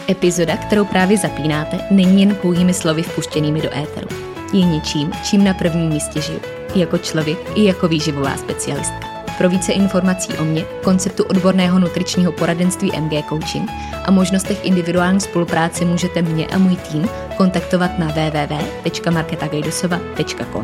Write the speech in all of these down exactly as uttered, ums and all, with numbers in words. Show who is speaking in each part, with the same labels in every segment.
Speaker 1: Epizoda, kterou právě zapínáte, není jen pouhými slovy vpuštěnými do éteru. Je něčím, čím na prvním místě žiju. I jako člověk, i jako výživová specialistka. Pro více informací o mně, konceptu odborného nutričního poradenství M G Coaching a možnostech individuální spolupráce můžete mě a můj tým kontaktovat na w w w tečka marketa gajdosova tečka com.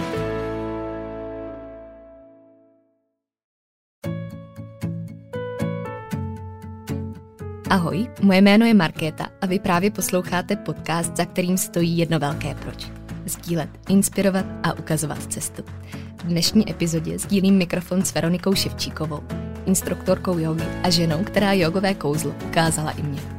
Speaker 1: Ahoj, moje jméno je Markéta a vy právě posloucháte podcast, za kterým stojí jedno velké proč. Sdílet, inspirovat a ukazovat cestu. V dnešní epizodě sdílím mikrofon s Veronikou Ševčíkovou, instruktorkou jógy a ženou, která jogové kouzlo ukázala i mě.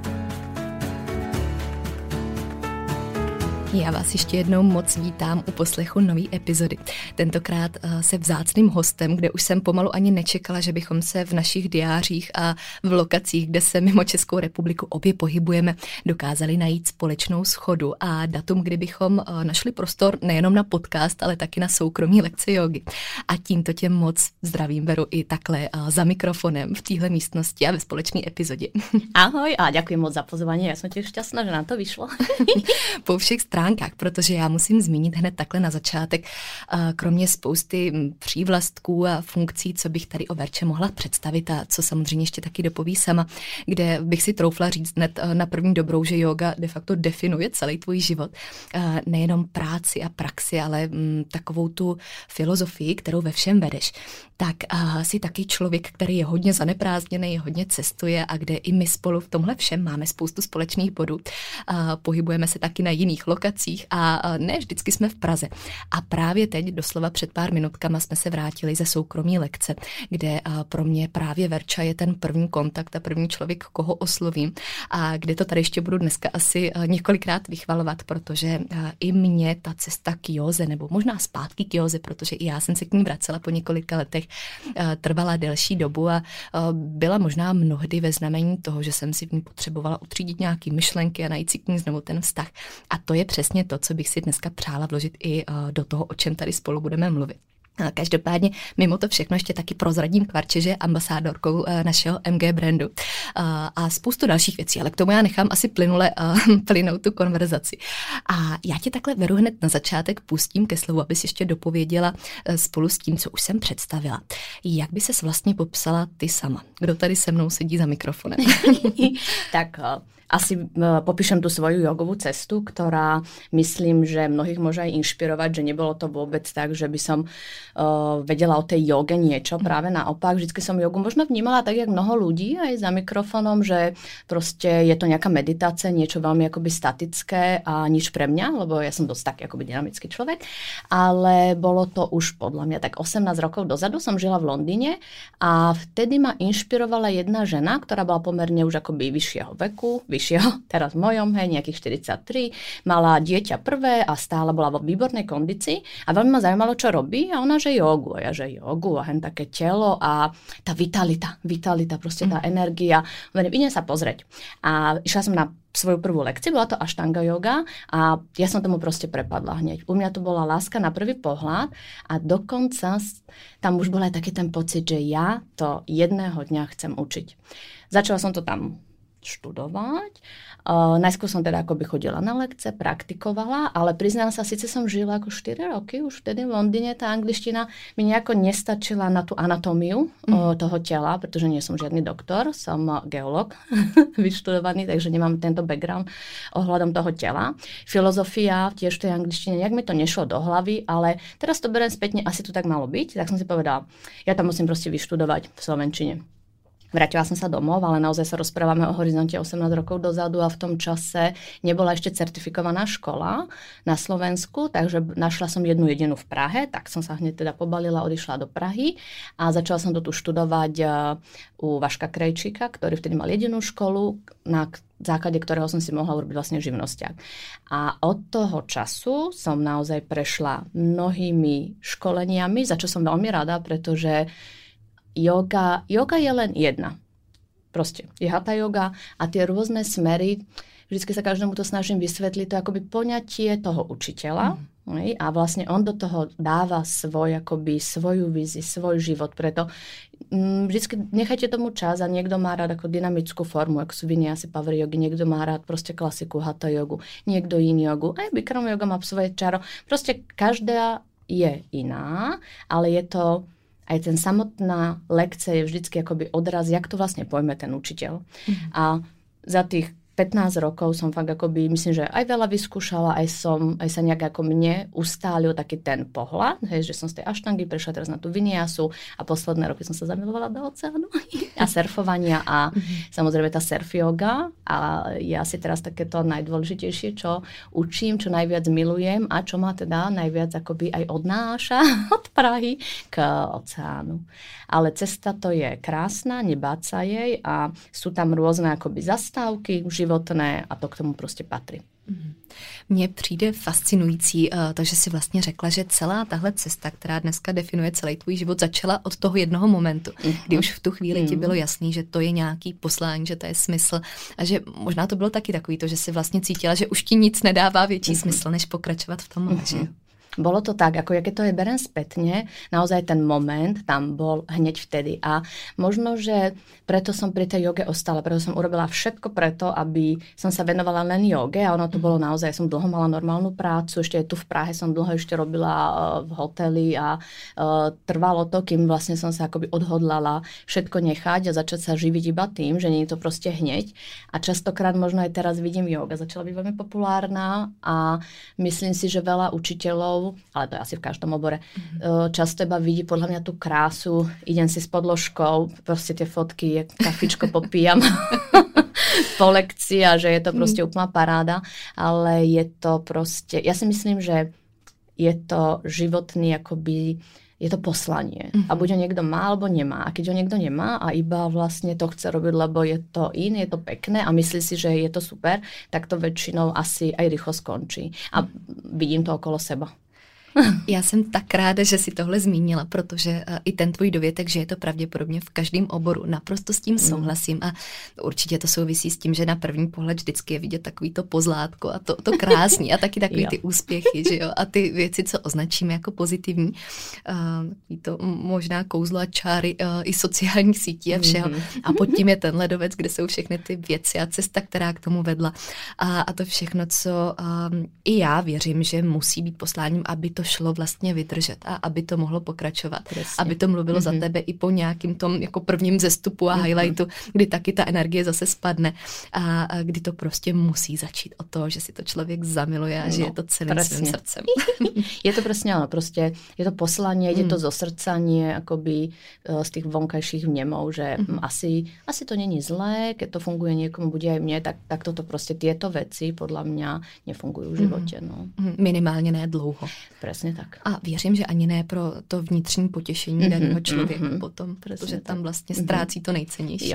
Speaker 1: Já vás ještě jednou moc vítám u poslechu nové epizody. Tentokrát se vzácným hostem, kde už jsem pomalu ani nečekala, že bychom se v našich diářích a v lokacích, kde se mimo Českou republiku obě pohybujeme, dokázali najít společnou shodu a datum, kdy bychom našli prostor nejenom na podcast, ale taky na soukromí lekce jógy. A tímto tě moc zdravím, Veru, i takhle za mikrofonem v téhle místnosti a ve společné epizodě.
Speaker 2: Ahoj a děkuji moc za pozvání. Já jsem těž šťastná, že nám to vyšlo.
Speaker 1: Po všech stránkách, protože já musím zmínit hned takhle na začátek, kromě spousty přívlastků a funkcí, co bych tady o Verče mohla představit a co samozřejmě ještě taky dopoví sama, kde bych si troufla říct hned na první dobrou, že yoga de facto definuje celý tvůj život. Nejenom práci a praxi, ale takovou tu filozofii, kterou ve všem vedeš. Tak jsi taky člověk, který je hodně zaneprázdněný, hodně cestuje a kde i my spolu v tomhle všem máme spoustu společných bodů. Pohybujeme se taky na jiných lokacích a ne vždycky jsme v Praze. A právě teď, doslova před pár minutkama, jsme se vrátili ze soukromí lekce, kde pro mě právě Verča je ten první kontakt a první člověk, koho oslovím a kde to tady ještě budu dneska asi několikrát vychvalovat, protože i mě ta cesta k józe, nebo možná zpátky k józe, protože i já jsem se k ní vracela po několika letech, trvala delší dobu a byla možná mnohdy ve znamení toho, že jsem si v ní potřebovala utřídit nějaké myšlenky a najít si k ní znovu ten vztah. A to je přesně to, co bych si dneska přála vložit i do toho, o čem tady spolu budeme mluvit. Každopádně mimo to všechno ještě taky prozradím k Verče, že je ambasádorkou našeho M G brandu a spoustu dalších věcí, ale k tomu já nechám asi plynule plynout tu konverzaci. A já tě takhle, Veru, hned na začátek pustím ke slovu, abys ještě dopověděla spolu s tím, co už jsem představila. Jak by ses vlastně popsala ty sama? Kdo tady se mnou sedí za mikrofonem?
Speaker 2: Tak asi popíšem tú svoju jogovú cestu, ktorá myslím, že mnohých môže aj inšpirovať, že nebolo to vôbec tak, že by som uh, vedela o tej joge niečo. Práve naopak, vždycky som jogu možno vnímala tak, jak mnoho ľudí aj za mikrofonom, že proste je to nejaká meditácia, niečo veľmi akoby statické a nič pre mňa, lebo ja som dosť taký akoby dynamický človek. Ale bolo to už podľa mňa tak osemnásť rokov dozadu, som žila v Londýne a vtedy ma inšpirovala jedna žena, ktorá bola pomerne už akoby vyššieho veku, teraz v mojom, hej, nejakých štyridsaťtri, mala dieťa prvé a stále bola vo výbornej kondícii a veľmi ma zaujímalo, čo robí a ona, že jogu, a ja, že jogu a hen také telo a tá vitalita, vitalita, proste tá energia, idem sa pozrieť. A išla som na svoju prvú lekciu, bola to Ashtanga yoga a ja som tomu proste prepadla hneď. U mňa to bola láska na prvý pohľad a dokonca tam už bol aj taký ten pocit, že ja to jedného dňa chcem učiť. Začala som to tam študovať. Uh, najskôr som teda akoby chodila na lekce, praktikovala, ale priznám sa, síce som žila ako štyri roky, už vtedy v Londýne tá angličtina mi nejako nestačila na tú anatómiu mm. uh, toho tela, pretože nie som žiadny doktor, som geológ vyštudovaný, takže nemám tento background ohľadom toho tela. Filozofia tiež v tej angličtine, nejak mi to nešlo do hlavy, ale teraz to beriem spätne, asi to tak malo byť, tak som si povedala, ja tam musím proste vyštudovať v slovenčine. Vrátila som sa domov, ale naozaj sa rozprávame o horizonte osemnásť rokov dozadu a v tom čase nebola ešte certifikovaná škola na Slovensku, takže našla som jednu jedinú v Prahe, tak som sa hneď teda pobalila, odišla do Prahy a začala som to tu študovať u Vaška Krejčíka, ktorý vtedy mal jedinú školu, na základe ktorého som si mohla urobiť vlastne živnosťák. A od toho času som naozaj prešla mnohými školeniami, za čo som veľmi rada, pretože Yoga, yoga je len jedna. Proste je hatha yoga a tie rôzne smery vždycky sa každému to snažím vysvetliť, to akoby poňatie toho učiteľa, mm. a vlastne on do toho dáva svoj, akoby svoju víziu, svoj život, preto vždycky nechajte tomu čas a niekto má rád ako dynamickú formu, ako sú vinyasa power yogi, niekto má rád proste klasiku hatha jogu, niekto yin jogu, aj Bikram yoga má svoje čaro, proste každá je iná, ale je to aj ten samotná lekcia je vždycky akoby odraz, jak to vlastne pojme ten učiteľ. Mm. A za tých pätnásť rokov som fakt akoby, myslím, že aj veľa vyskúšala, aj som, aj sa nejak ako mne ustálil taký ten pohľad, hej, že som z tej aštangy prešla teraz na tú vinyasu a posledné roky som sa zamilovala do oceánu a surfovania a mm-hmm. samozrejme tá surf yoga a je asi teraz takéto najdôležitejšie, čo učím, čo najviac milujem a čo ma teda najviac akoby aj odnáša od Prahy k oceánu. Ale cesta to je krásna, nebáť sa jej a sú tam rôzne akoby zastávky životné a to k tomu prostě patří.
Speaker 1: Mně přijde fascinující, takže si vlastně řekla, že celá tahle cesta, která dneska definuje celý tvůj život, začala od toho jednoho momentu, kdy už v tu chvíli ti bylo jasný, že to je nějaký poslání, že to je smysl a že možná to bylo taky takový to, že si vlastně cítila, že už ti nic nedává větší smysl, než pokračovat v tom, že jo?
Speaker 2: Bolo to tak, ako ja keď to je berem spätne, naozaj ten moment tam bol hneď vtedy a možno, že preto som pri tej joge ostala, preto som urobila všetko preto, aby som sa venovala len joge a ono to bolo naozaj, ja som dlho mala normálnu prácu, ešte tu v Prahe som dlho ešte robila v hoteli a uh, trvalo to, kým vlastne som sa akoby odhodlala všetko nechať a začať sa živiť iba tým, že nie je to proste hneď a častokrát možno aj teraz vidím joga, začala byť veľmi populárna a myslím si, že veľa učiteľov, ale to je asi v každom obore, mm-hmm. často iba vidí podľa mňa tú krásu, idem si s podložkou, proste tie fotky, kafičko popíjam po lekcii a že je to proste úplná paráda, ale je to proste, ja si myslím, že je to životný akoby, je to poslanie. Mm-hmm. A buď ho niekto má, alebo nemá. A keď ho niekto nemá a iba vlastne to chce robiť, lebo je to in, je to pekné a myslí si, že je to super, tak to väčšinou asi aj rýchlo skončí. A vidím to okolo seba.
Speaker 1: Já jsem tak ráda, že si tohle zmínila, protože uh, i ten tvůj dovětek, že je to pravděpodobně v každém oboru, naprosto s tím souhlasím a určitě to souvisí s tím, že na první pohled vždycky je vidět takový to pozlátko a to, to krásný a taky takový ty úspěchy, že jo, a ty věci, co označíme jako pozitivní, uh, to možná kouzlo a čáry uh, i sociálních sítí a všeho a pod tím je ten ledovec, kde jsou všechny ty věci a cesta, která k tomu vedla a, a to všechno, co um, i já věřím, že musí být posláním, aby to šlo vlastně vydržet a aby to mohlo pokračovat. Presně. Aby to mluvilo mm-hmm. za tebe i po nějakým tom jako prvním zestupu a mm-hmm. highlightu, kdy taky ta energie zase spadne a, a kdy to prostě musí začít od toho, že si to člověk zamiluje a no, že je to celým presne. Svým srdcem.
Speaker 2: Je to presne ono, prostě je to poslanie, mm. ide to zo srdca, nie akoby z tých vonkajších vnemov, že mm-hmm. asi, asi to není zlé, keď to funguje niekomu, bude aj mne, tak, tak toto prostě tieto veci podľa mňa nefungujú v živote. Mm-hmm. No.
Speaker 1: Minimálně ne dlouho.
Speaker 2: Přesně tak.
Speaker 1: A věřím, že ani ne pro to vnitřní potěšení mm-hmm, daného člověka mm-hmm. potom, protože tam tak. vlastně ztrácí mm-hmm. to nejcennější.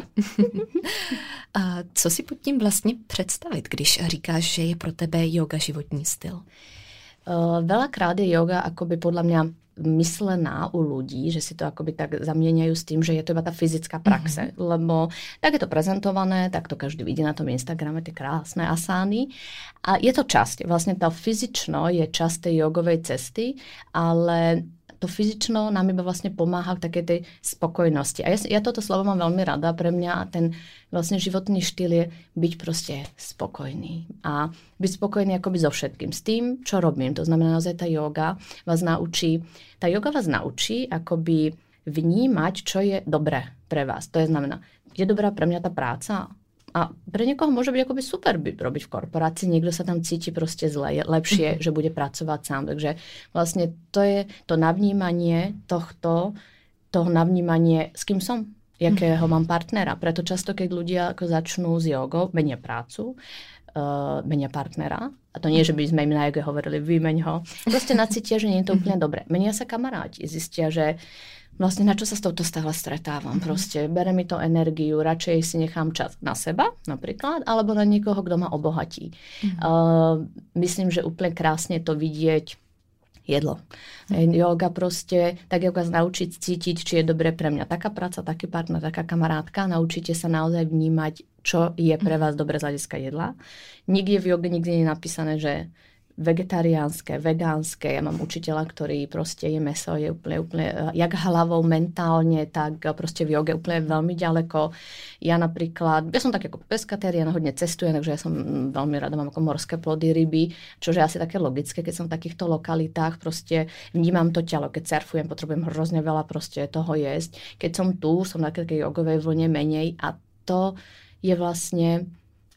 Speaker 1: A co si pod tím vlastně představit, když říkáš, že je pro tebe yoga životní styl?
Speaker 2: Uh, veľakrát je yoga akoby podľa mňa myslená u ľudí, že si to akoby tak zamieňajú s tým, že je to iba tá fyzická praxe, mm-hmm. lebo tak je to prezentované, tak to každý vidí na tom Instagrame, tie krásne asány a je to časť, vlastne to fyzično je časť tej jogovej cesty, ale to fyzično nám iba vlastne pomáha k takej tej spokojnosti. A ja, ja toto slovo mám veľmi rada. Pre mňa ten vlastne životný štýl je byť proste spokojný. A byť spokojný akoby so všetkým. S tým, čo robím. To znamená, naozaj tá yoga vás naučí, tá yoga vás naučí akoby vnímať, čo je dobré pre vás. To je znamená, je dobrá pre mňa tá práca? A pre niekoho môže byť akoby super byť, robiť v korporácii, niekto sa tam cíti proste zle, je lepšie, mm-hmm. že bude pracovať sám. Takže vlastne to je to navnímanie tohto, toho navnímanie, s kým som, jakého mm-hmm. mám partnera. Preto často, keď ľudia ako začnú s jogou, menia prácu, uh, menia partnera, a to nie, že by sme im na joge hovorili, vymeň ho, proste nacítia, že nie je to úplne dobré. Menia sa kamaráti, zistia, že vlastne na čo sa s touto stále stretávam. Proste bere mi to energiu, radšej si nechám čas na seba napríklad, alebo na niekoho, kto ma obohatí. Mm. Uh, myslím, že úplne krásne to vidieť. jedlo. Mm. Yoga proste, tak jak vás naučiť cítiť, či je dobré pre mňa taká práca, taký partner, taká kamarátka, naučíte sa naozaj vnímať, čo je pre vás dobré z hľadiska jedla. Nikde v joge nikdy nie je napísané, že vegetariánske, vegánske. Ja mám učiteľa, ktorý proste je meso, je úplne, úplne jak hlavou, mentálne, tak proste v joge úplne veľmi ďaleko. Ja napríklad, ja som tak ako peskatérián, hodne cestujem, takže ja som veľmi rada, mám ako morské plody, ryby, čo je asi také logické, keď som v takýchto lokalitách, proste vnímam to telo, keď surfujem, potrebujem hrozne veľa proste toho jesť. Keď som tu, som na takej jogovej vlne menej a to je vlastne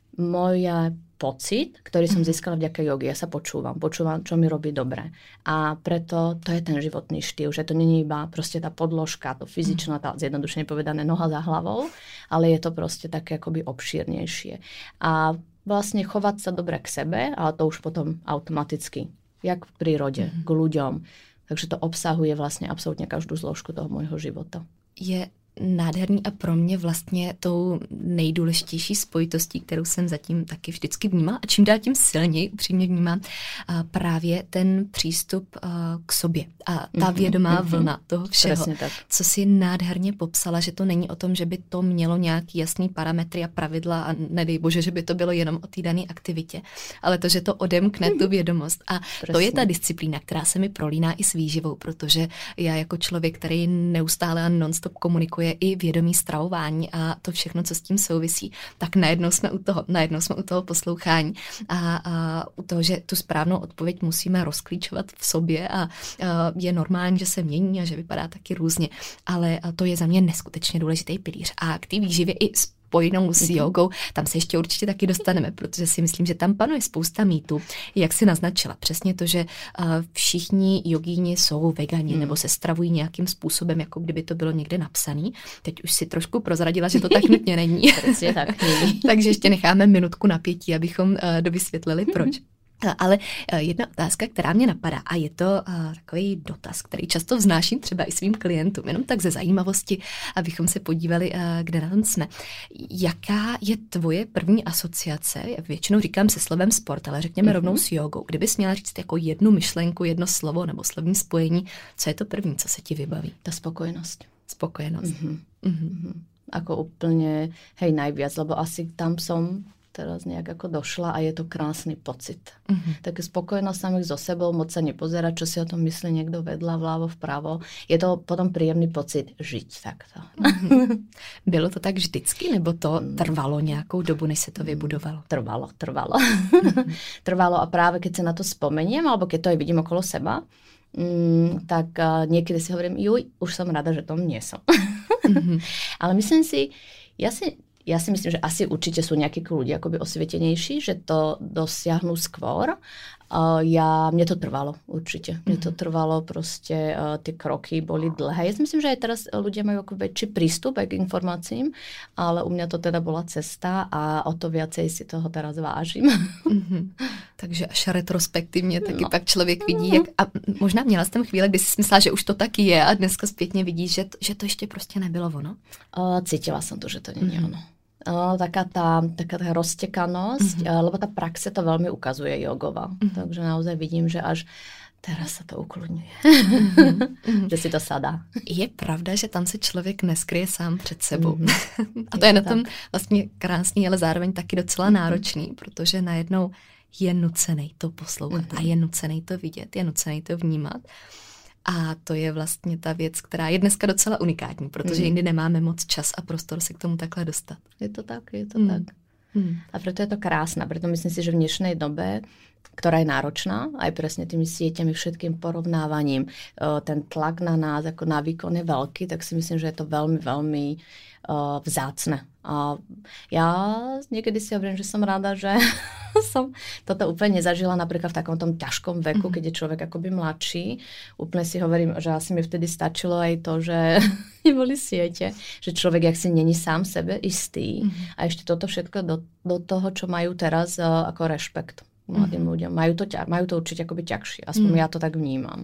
Speaker 2: moja pocit, ktorý som získala vďaka jogi. Ja sa počúvam, počúvam, čo mi robí dobre. A preto to je ten životný štýl, že to nie je iba proste tá podložka, to fyzičná, tá zjednodušene povedané noha za hlavou, ale je to proste také akoby obšírnejšie. A vlastne chovať sa dobre k sebe, ale to už potom automaticky, jak v prírode, mm-hmm. k ľuďom. Takže to obsahuje vlastne absolútne každú zložku toho môjho života.
Speaker 1: Je nádherný a pro mě vlastně tou nejdůležitější spojitostí, kterou jsem zatím taky vždycky vnímala a čím dál tím silněji upřímně vnímám právě ten přístup k sobě a ta vědomá mm-hmm. vlna toho všeho, co si nádherně popsala, že to není o tom, že by to mělo nějaký jasný parametry a pravidla a nedej bože, že by to bylo jenom o té dané aktivitě, ale to, že to odemkne tu vědomost a Presně. To je ta disciplína, která se mi prolíná i s výživou, protože já jako člověk, který neustále a non-stop komunikuje i vědomí stravování a to všechno, co s tím souvisí, tak najednou jsme u toho, najednou jsme u toho poslouchání a, a u toho, že tu správnou odpověď musíme rozklíčovat v sobě a, a je normální, že se mění a že vypadá taky různě, ale to je za mě neskutečně důležitý pilíř. A k té výživě i spojenou s jogou, tam se ještě určitě taky dostaneme, protože si myslím, že tam panuje spousta mýtů, jak si naznačila. Přesně to, že uh, všichni jogíni jsou vegani hmm. nebo se stravují nějakým způsobem, jako kdyby to bylo někde napsaný. Teď už si trošku prozradila, že to tak nutně není.
Speaker 2: Přesně tak není.
Speaker 1: Takže ještě necháme minutku napětí, abychom uh, dovysvětlili, proč. Ale jedna otázka, která mě napadá, a je to uh, takový dotaz, který často vznáším třeba i svým klientům, jenom tak ze zajímavosti, abychom se podívali, uh, kde na tom jsme. Jaká je tvoje první asociace? Já většinou říkám se slovem sport, ale řekněme mm-hmm. rovnou s jogou. Kdybys měla říct jako jednu myšlenku, jedno slovo nebo slovní spojení, co je to první, co se ti vybaví?
Speaker 2: Ta spokojnosť.
Speaker 1: Spokojnosť.
Speaker 2: Mm-hmm. Mm-hmm. Ako úplne, hej, najviac, lebo asi tam som teraz nejak ako došla a je to krásny pocit. Mm-hmm. Tak spokojnosť samých so sebou, moc sa nepozerať, čo si o tom myslí niekto vedľa, vľavo, vpravo. Je to potom príjemný pocit žiť takto.
Speaker 1: Mm-hmm. Bylo to tak vždycky, nebo to trvalo nějakou dobu, než se to vybudovalo?
Speaker 2: Trvalo, trvalo. Mm-hmm. Trvalo a práve keď sa na to spomeniem, alebo keď to aj vidím okolo seba, mm, tak uh, niekedy si hovorím, juj, už som rada, že tom nie som. Mm-hmm. Ale myslím si, ja si Ja si myslím, že asi určite sú nejakí ľudia akoby osvietenejší, že to dosiahnu skôr. Uh, ja, mne to trvalo určite. Mne to trvalo proste, uh, tie kroky boli dlhé. Ja si myslím, že aj teraz ľudia majú ako väčší prístup aj k informáciím, ale u mňa to teda bola cesta a o to viacej si toho teraz vážim.
Speaker 1: Mm-hmm. Takže až retrospektivně taky no. pak člověk vidí, jak, a možná měla jsi tam chvíli, kdy si myslela, že už to taky je a dneska zpětně vidíš, že to, že to ještě prostě nebylo ono?
Speaker 2: Uh, cítila som to, že to nie je mm-hmm. ono. Uh, taká tá, taká tá roztekanosť, mm-hmm. uh, lebo tá praxe to veľmi ukazuje jogová. Mm-hmm. Takže naozaj vidím, že až teraz sa to ukludňuje. Mm-hmm. Že si to sadá.
Speaker 1: Je pravda, že tam se člověk neskryje sám před sebou. Mm-hmm. A to je, je na tom tak. vlastně krásný, ale zároveň taky docela mm-hmm. náročný, protože najednou je nucený to poslouchat mm-hmm. a je nucený to vidět, je nucený to vnímat. A to je vlastně ta věc, která je dneska docela unikátní, protože mm. jindy nemáme moc čas a prostor se k tomu takhle dostat.
Speaker 2: Je to tak, je to mm. tak. Mm. A preto je to krásne. Preto myslím si, že v dnešnej dobe, ktorá je náročná, aj presne tými sieťami, všetkým porovnávaním, ten tlak na nás ako na výkon je veľký, tak si myslím, že je to veľmi, veľmi uh, vzácne. A ja niekedy si hovorím, že som rada, že som toto úplne nezažila napríklad v takom tom ťažkom veku, mm-hmm. keď je človek akoby mladší. Úplne si hovorím, že asi mi vtedy stačilo aj to, že neboli siete, že človek jak si není sám sebe istý. Mm-hmm. A ešte toto všetko do, do toho, čo majú teraz uh, ako rešpekt mladým mm-hmm. ľuďom. Majú to, majú to určite akoby ťažšie. Aspoň mm. ja to tak vnímam.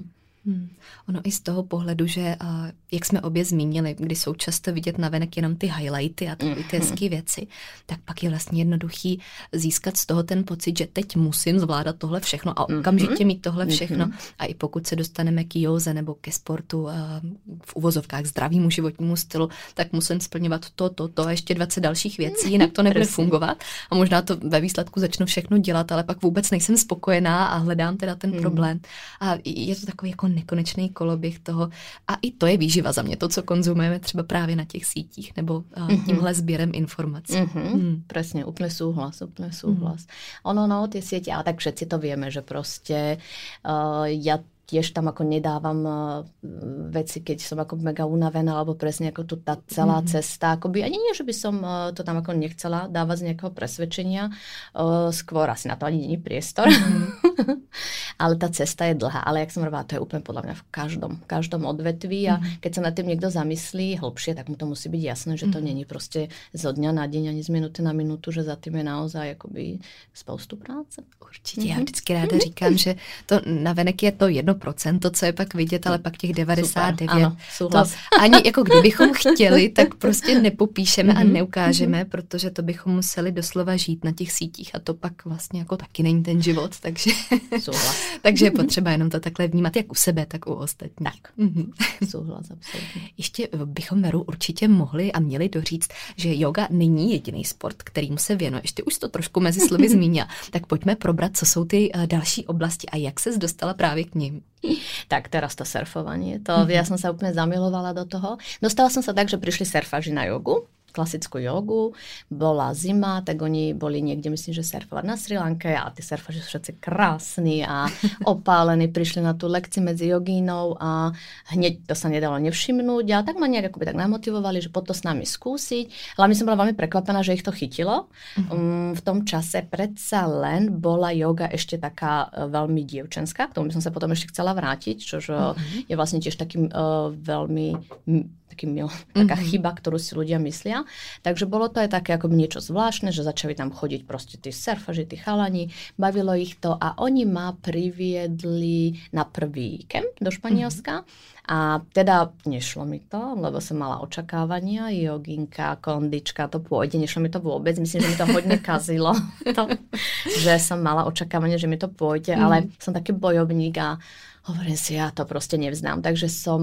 Speaker 1: Hmm. Ono i z toho pohledu, že uh, jak jsme obě zmínili, kdy jsou často vidět navenek jenom ty highlighty a ty hezké věci, tak pak je vlastně jednoduchý získat z toho ten pocit, že teď musím zvládat tohle všechno a okamžitě mít tohle všechno. A i pokud se dostaneme k józe nebo ke sportu uh, v uvozovkách zdravému životnímu stylu, tak musím splňovat to, to, to a ještě dvacet dalších věcí, jinak to nebude fungovat. A možná to ve výsledku začnu všechno dělat, ale pak vůbec nejsem spokojená a hledám teda ten problém. A je to takový jako nekonečný koloběh toho. A i to je výživa za mě, to, co konzumujeme třeba právě na těch sítích nebo uh, tímhle sběrem informací.
Speaker 2: Mm-hmm. Mm. Presne, úplne súhlas, úplne súhlas. Mm. Ono, no, tie siete, ale tak všetci to vieme, že proste uh, ja tiež tam ako nedávam uh, veci, keď som ako mega unavená, alebo presne ako tu tá celá mm-hmm. cesta. Akoby, ani nie, že by som uh, to tam ako nechcela dávať z nejakého presvedčenia. Uh, skôr asi na to ani nie je priestor. Mm-hmm. Ale tá cesta je dlhá. Ale jak som hovorila, to je úplne podľa mňa v každom, každom odvetví. A mm-hmm. keď sa nad tým niekto zamyslí hlbšie, tak mu to musí byť jasné, že to mm-hmm. není proste zo dňa na deň, ani z minuty na minutu, že za tým je naozaj akoby spoustu práce.
Speaker 1: Určitě. Mm-hmm. Já vždycky ráda říkám, že to navenek je to jedno procento, co je pak vidět, ale pak těch devadesát devět.
Speaker 2: Super, ano,
Speaker 1: to ani jako kdybychom chtěli, tak prostě nepopíšeme mm-hmm. a neukážeme, mm-hmm. protože to bychom museli doslova žít na těch sítích a to pak vlastně jako taky není ten život, takže, takže je potřeba jenom to takhle vnímat, jak u sebe, tak u ostatních.
Speaker 2: Tak, mm-hmm. souhlas, absolutně.
Speaker 1: Ještě bychom, Veru, určitě mohli a měli doříct, že yoga není jediný sport, kterým se věnuješ. Ty už to trošku mezi slovy zmínila. Tak pojďme probrat, co jsou ty další oblasti a jak ses dostala právě k nim.
Speaker 2: Tak teraz to surfovanie. To, mm-hmm. Ja som sa úplne zamilovala do toho. Dostala som sa tak, že prišli surfaži na jogu, klasickú jogu, bola zima, tak oni boli niekde, myslím, že surfovať na Sri Lanke a tí surfaži sú všetci krásni a opálení, prišli na tú lekciu medzi jogínou a hneď to sa nedalo nevšimnúť a tak ma nejak akoby tak namotivovali, že poď to s nami skúsiť. Hlavne som bola veľmi prekvapená, že ich to chytilo. Mm-hmm. Um, v tom čase predsa len bola joga ešte taká uh, veľmi dievčenská, k tomu by som sa potom ešte chcela vrátiť, čož mm-hmm. je vlastne tiež takým uh, veľmi taký mil, taká mm-hmm. chyba, ktorú si ľudia myslia. Takže bolo to aj také ako niečo zvláštne, že začali tam chodiť proste tí surfaži, tí chalani, bavilo ich to a oni ma priviedli na prvý kemp do Španielska mm-hmm. a teda nešlo mi to, lebo som mala očakávania, joginka, kondička, to pôjde, nešlo mi to vôbec, myslím, že mi to hodne kazilo, to, že som mala očakávanie, že mi to pôjde, mm-hmm. ale som taký bojovník a hovorím si, ja to proste nevznám, takže som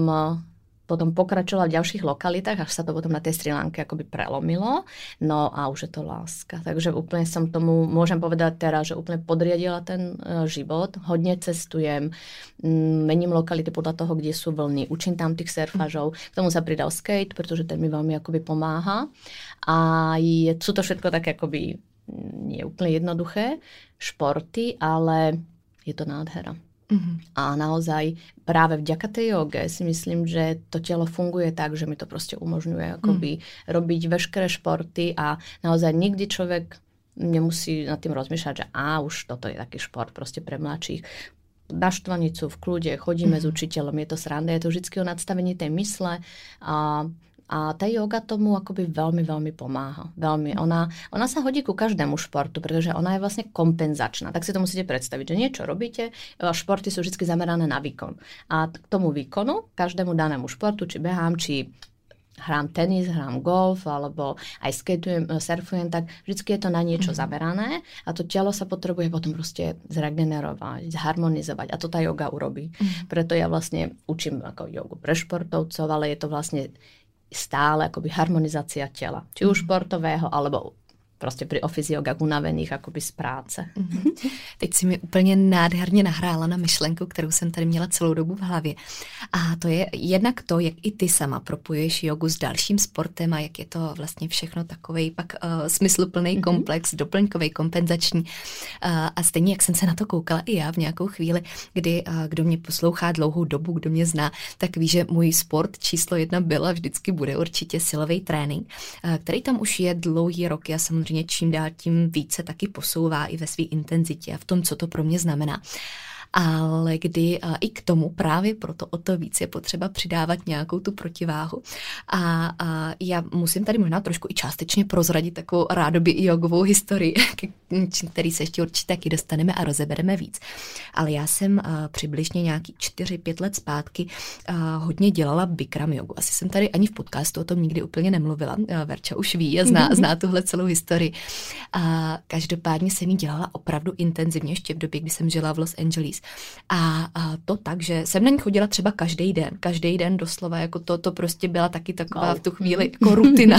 Speaker 2: potom pokračovala v ďalších lokalitách, až sa to potom na tej Sri Lanke akoby prelomilo. No a už je to láska. Takže úplne som tomu, môžem povedať teraz, že úplne podriadila ten uh, život. Hodne cestujem, m, mením lokality podľa toho, kde sú vlny. Učím tam tých surfažov. K tomu sa pridal skate, pretože ten mi veľmi akoby pomáha. A je, sú to všetko také akoby nie úplne jednoduché športy, ale je to nádhera. Mm-hmm. A naozaj práve vďaka tej joge si myslím, že to telo funguje tak, že mi to proste umožňuje akoby mm. robiť veškeré športy a naozaj nikdy človek nemusí nad tým rozmýšľať, že á, už toto je taký šport proste pre mladších. Na štvanicu v kľude chodíme mm. s učiteľom, je to sranda, je to vždy o nadstavení tej mysle a A tá yoga tomu akoby veľmi, veľmi pomáha. Veľmi. Ona, ona sa hodí ku každému športu, pretože ona je vlastne kompenzačná. Tak si to musíte predstaviť, že niečo robíte, športy sú vždy zamerané na výkon. A k tomu výkonu, každému danému športu, či behám, či hrám tenis, hrám golf, alebo aj skateujem, surfujem, tak vždy je to na niečo mm. zamerané a to telo sa potrebuje potom proste zregenerovať, zharmonizovať a to tá yoga urobí. Mm. Preto ja vlastne učím ako jogu pre športovcov, ale je to vlastne stále akoby harmonizácia tela. Či už športového, alebo prostě pri office yoga unavených akoby z práce.
Speaker 1: Mm-hmm. Teď si mi úplně nádherně nahrála na myšlenku, kterou jsem tady měla celou dobu v hlavě. A to je jednak to, jak i ty sama propojuješ jogu s dalším sportem a jak je to vlastně všechno takovej pak uh, smysluplný mm-hmm. komplex, doplňkový, kompenzační. Uh, a stejně, jak jsem se na to koukala i já v nějakou chvíli, kdy uh, kdo mě poslouchá dlouhou dobu, kdo mě zná, tak ví, že můj sport číslo jedna byl a vždycky bude určitě silový trénink, uh, který tam už je dlouhý roky a samozřejmě čím dál tím více taky posouvá i ve své intenzitě a v tom, co to pro mě znamená. Ale kdy a i k tomu právě proto o to víc je potřeba přidávat nějakou tu protiváhu. A, a já musím tady možná trošku i částečně prozradit takovou rádoby i jogovou historii, který se ještě určitě taky dostaneme a rozebereme víc. Ale já jsem uh, přibližně nějaký čtyři pět let zpátky uh, hodně dělala Bikram jogu. Asi jsem tady ani v podcastu o tom nikdy úplně nemluvila. Uh, Verča už ví a zná, zná tuhle celou historii. A každopádně jsem ji dělala opravdu intenzivně ještě v době, kdy jsem žila v Los Angeles. A, a to tak, že jsem na ní chodila třeba každý den. Každý den doslova, jako to, to prostě byla taky taková wow. v tu chvíli jako rutina.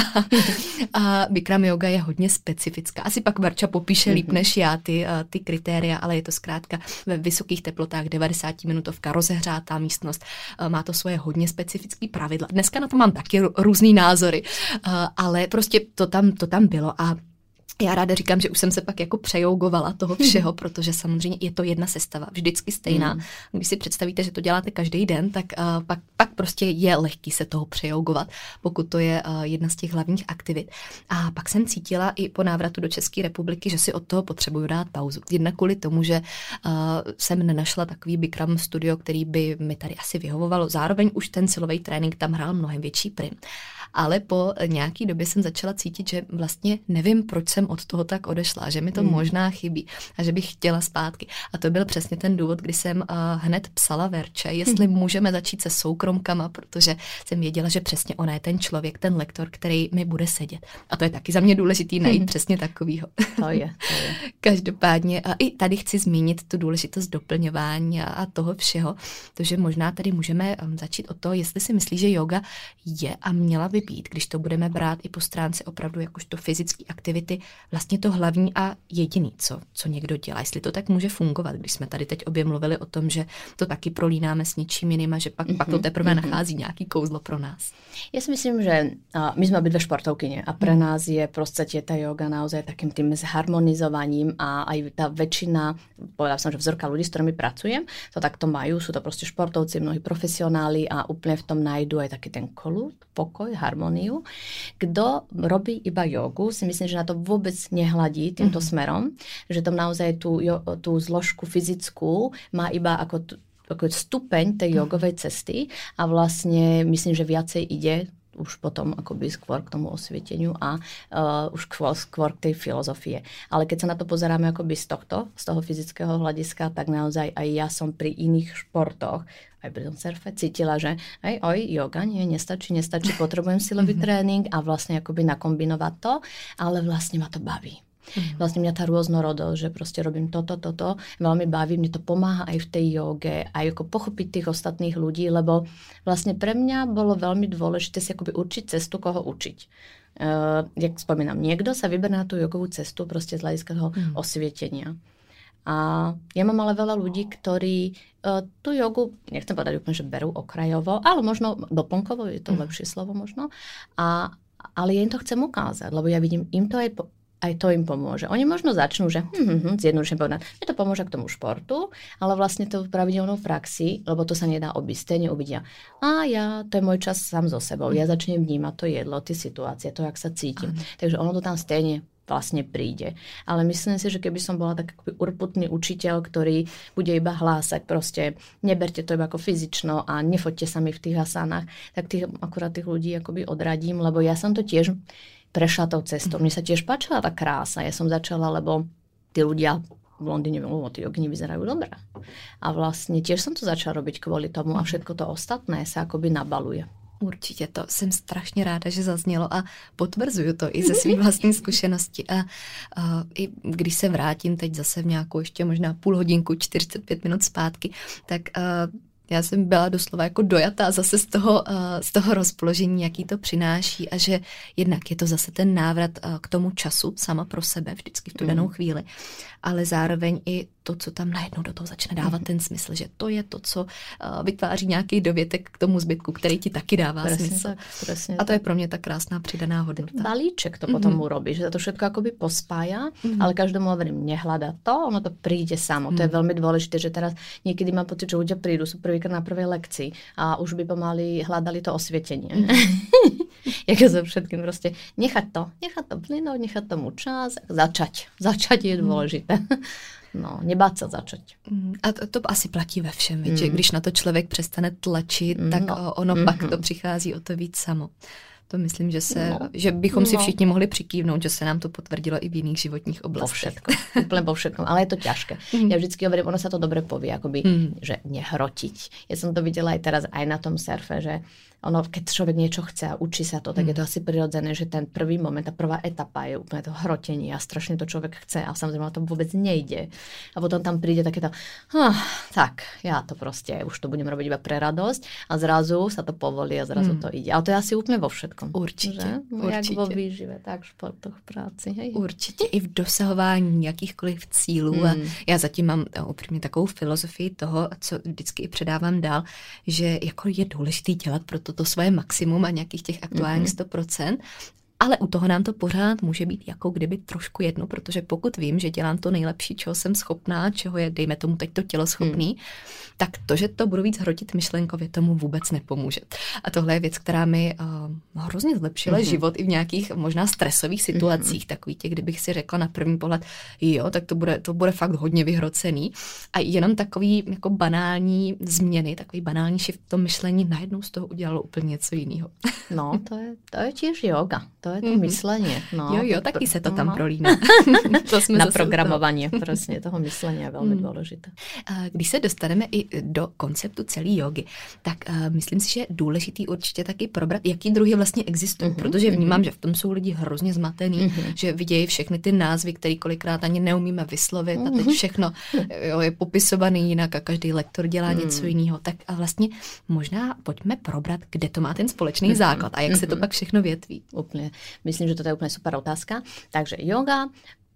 Speaker 1: A Bikram yoga je hodně specifická. Asi pak Verča popíše líp než já ty, ty kritéria, ale je to zkrátka ve vysokých teplotách, devadesáti-minutovka, rozehřátá místnost. Má to svoje hodně specifické pravidla. Dneska na to mám taky různý názory, ale prostě to tam, to tam bylo a já ráda říkám, že už jsem se pak jako přejougovala toho všeho, protože samozřejmě je to jedna sestava, vždycky stejná. Mm. Když si představíte, že to děláte každý den, tak uh, pak, pak prostě je lehký se toho přejougovat, pokud to je uh, jedna z těch hlavních aktivit. A pak jsem cítila i po návratu do České republiky, že si od toho potřebuju dát pauzu. Jednak kvůli tomu, že uh, jsem nenašla takový Bikram studio, který by mi tady asi vyhovovalo. Zároveň už ten silový trénink tam hrál mnohem větší prim. Ale po nějaký době jsem začala cítit, že vlastně nevím, proč jsem od toho tak odešla, že mi to mm. možná chybí a že bych chtěla zpátky. A to byl přesně ten důvod, kdy jsem uh, hned psala Verče, jestli mm. můžeme začít se soukromkama, protože jsem věděla, že přesně ona je ten člověk, ten lektor, který mi bude sedět. A to je taky za mě důležitý najít mm. přesně takovýho.
Speaker 2: To je, to je.
Speaker 1: Každopádně a i tady chci zmínit tu důležitost doplňování a, a toho všeho, protože možná tady můžeme um, začít od toho, jestli si myslí, že yoga je a měla by být, když to budeme brát i po stránce opravdu jakožto fyzické aktivity, vlastně to hlavní a jediný, co, co někdo dělá. Jestli to tak může fungovat, když jsme tady teď obě mluvili o tom, že to taky prolínáme s ničím jiným a že pak, mm-hmm, pak to teprve mm-hmm. nachází nějaký kouzlo pro nás.
Speaker 2: Ja si myslím, že uh, my sme obidve športovkyne a pre mm. nás je v podstate tá yoga naozaj takým tým zharmonizovaním a aj tá väčšina, povedala som, že vzorka ľudí, s ktorými pracujem, to takto majú, sú to proste športovci, mnohí profesionáli a úplne v tom nájdu aj taký ten kľud, pokoj, harmóniu. Kto robí iba jogu, si myslím, že na to vôbec nehladí týmto mm-hmm. smerom, že tam naozaj tú, tú zložku fyzickú má iba ako, t- ako stupeň tej jogovej cesty a vlastne myslím, že viacej ide už potom akoby skôr k tomu osvieteniu a uh, už skôr, skôr k tej filozofie. Ale keď sa na to pozeráme akoby z tohto, z toho fyzického hľadiska, tak naozaj aj ja som pri iných športoch, aj pri tom surfe cítila, že aj oj, yoga nie, nestačí, nestačí, potrebujem silový tréning a vlastne akoby nakombinovať to, ale vlastne ma to baví. Mm. Vlastne mňa tá rôznorodosť, že proste robím toto, toto, veľmi baví, mne to pomáha aj v tej joge, aj ako pochopiť tých ostatných ľudí, lebo vlastne pre mňa bolo veľmi dôležité si akoby určiť cestu, koho učiť. Uh, jak spomínam, niekto sa vyberá na tú jogovú cestu proste z hľadiska toho mm. osvietenia. A ja mám ale veľa ľudí, ktorí uh, tú jogu, nechcem povedať úplne, že berú okrajovo, ale možno doplnkovo, je to mm. lepšie slovo možno, a, ale ja im to chcem ukázať, lebo ja vidím, im to aj po, aj to im pomôže. Oni možno začnú, že hm, hm, hm, zjednodušene povedať, mne to pomôže k tomu športu, ale vlastne to v pravidelnou praxi, lebo to sa nedá obísť, stejne uvidia. A ja, to je môj čas sám so sebou. Ja začnem vnímať to jedlo, tie situácie, to, jak sa cítim. Ano. Takže ono to tam stejne vlastne príde. Ale myslím si, že keby som bola tak akoby urputný učiteľ, ktorý bude iba hlásať proste, neberte to iba ako fyzično a nefoďte sa mi v tých asanách, tak tých, akurát tých ľudí akoby odradím, lebo ja som to tiež prešla tou cestou. Mne sa tiež páčila tá krása. Ja som začala, lebo tí ľudia v Londýne, lebo tí jogini vyzerajú dobre. A vlastne tiež som to začala robiť kvôli tomu a všetko to ostatné sa akoby nabaluje.
Speaker 1: Určitě, to jsem strašně ráda, že zaznělo a potvrzuju to i ze svý vlastní zkušenosti. A, a i když se vrátím teď zase v nějakou ještě možná půl hodinku, čtyřicet pět minut zpátky, tak a, já jsem byla doslova jako dojatá zase z toho, z toho rozpoložení, jaký to přináší a že jednak je to zase ten návrat k tomu času sama pro sebe vždycky v tu danou chvíli, ale zároveň i to, co tam najednou do toho začne dávat ten smysl, že to je to, co vytváří nějaký dovětek k tomu zbytku, který ti taky dává presne smysl. Tak, presne a to tak. Je pro mě ta krásná přidaná hodnota.
Speaker 2: Balíček to potom mm-hmm. urobí, že to všetko akoby pospája, mm-hmm. ale každomu hovorím, nehľada to, ono to príde samo. Mm-hmm. To je veľmi dôležité, že teraz niekedy mám pocit, že ľudia prídu, sú prvýkrát na prvej lekcii a už by pomaly hľadali to osvietenie. Mm-hmm. Jak so všetkým proste nechať to, nechať to plynúť, nechať tomu čas, začať. Začať je dôležité. No, nebát se začať.
Speaker 1: A to, to asi platí ve všem, mm. že když na to člověk přestane tlačit, mm, tak
Speaker 2: no.
Speaker 1: ono
Speaker 2: mm-hmm.
Speaker 1: pak to přichází o to víc samo. To myslím, že, se, no. že bychom
Speaker 2: no.
Speaker 1: si všichni mohli přikývnout, že se nám to potvrdilo i v jiných životních oblastech.
Speaker 2: Po všetkom, úplne po všetkom, ale je to ťažké. Mm. Ja vždycky hovorím, ono sa to dobre povie, akoby, mm. že nehrotiť. Ja som to videla aj teraz aj na tom surfe, že ono, keď človek niečo chce a učí sa to, tak mm. je to asi prirodzené, že ten prvý moment, tá prvá etapa je úplne to hrotenie a strašne to človek chce a samozrejme to vôbec nejde. A potom tam príde takéto, hm, tak, ja to proste, už to budem robiť iba pre radosť a zrazu sa to povolí a zrazu mm. to ide. Ale to je asi úplne vo všetkom.
Speaker 1: Určite,
Speaker 2: no,
Speaker 1: určite.
Speaker 2: Jak vo výžive, tak v športoch, v práci. Hej.
Speaker 1: Určitě i v dosahování jakýchkoliv cílů. Mm. A já zatím mám upřímně takovou filozofii toho, co vždycky i předávám dál, že jako je důležité dělat pro to svoje maximum a nějakých těch aktuálních sto procent. Ale u toho nám to pořád může být jako kdyby trošku jedno, protože pokud vím, že dělám to nejlepší, čeho jsem schopná, čeho je, dejme tomu teď to tělo schopný, hmm. tak to, že to budu víc hrotit myšlenkově, tomu vůbec nepomůže. A tohle je věc, která mi uh, hrozně zlepšila hmm. život i v nějakých možná stresových situacích, hmm. takový těch, kdybych si řekla na první pohled, jo, tak to bude, to bude fakt hodně vyhrocený. A jenom takový jako banální změny, takový banální shift v tom myšlení najednou z toho udělalo úplně něco jiného.
Speaker 2: No, to je, to je tiež yoga. To je to mm-hmm. myslenie. No,
Speaker 1: jo, jo, taky se to tam no. prolíná.
Speaker 2: To jsme na programovanie prostě toho myslenia velmi mm. důležité.
Speaker 1: Když se dostaneme i do konceptu celé jogy, tak uh, myslím si, že je důležitý určitě taky probrat, jaký druhy vlastně existují, mm-hmm. protože vnímám, mm-hmm. že v tom jsou lidi hrozně zmatený, mm-hmm. že vidějí všechny ty názvy, které kolikrát ani neumíme vyslovit mm-hmm. a teď všechno jo, je popisovaný jinak a každý lektor dělá mm. něco jiného. Tak a vlastně možná pojďme probrat, kde to má ten společný mm-hmm. základ a jak mm-hmm. se to pak všechno větví.
Speaker 2: Úplně. Myslím, že toto je úplne super otázka. Takže yoga,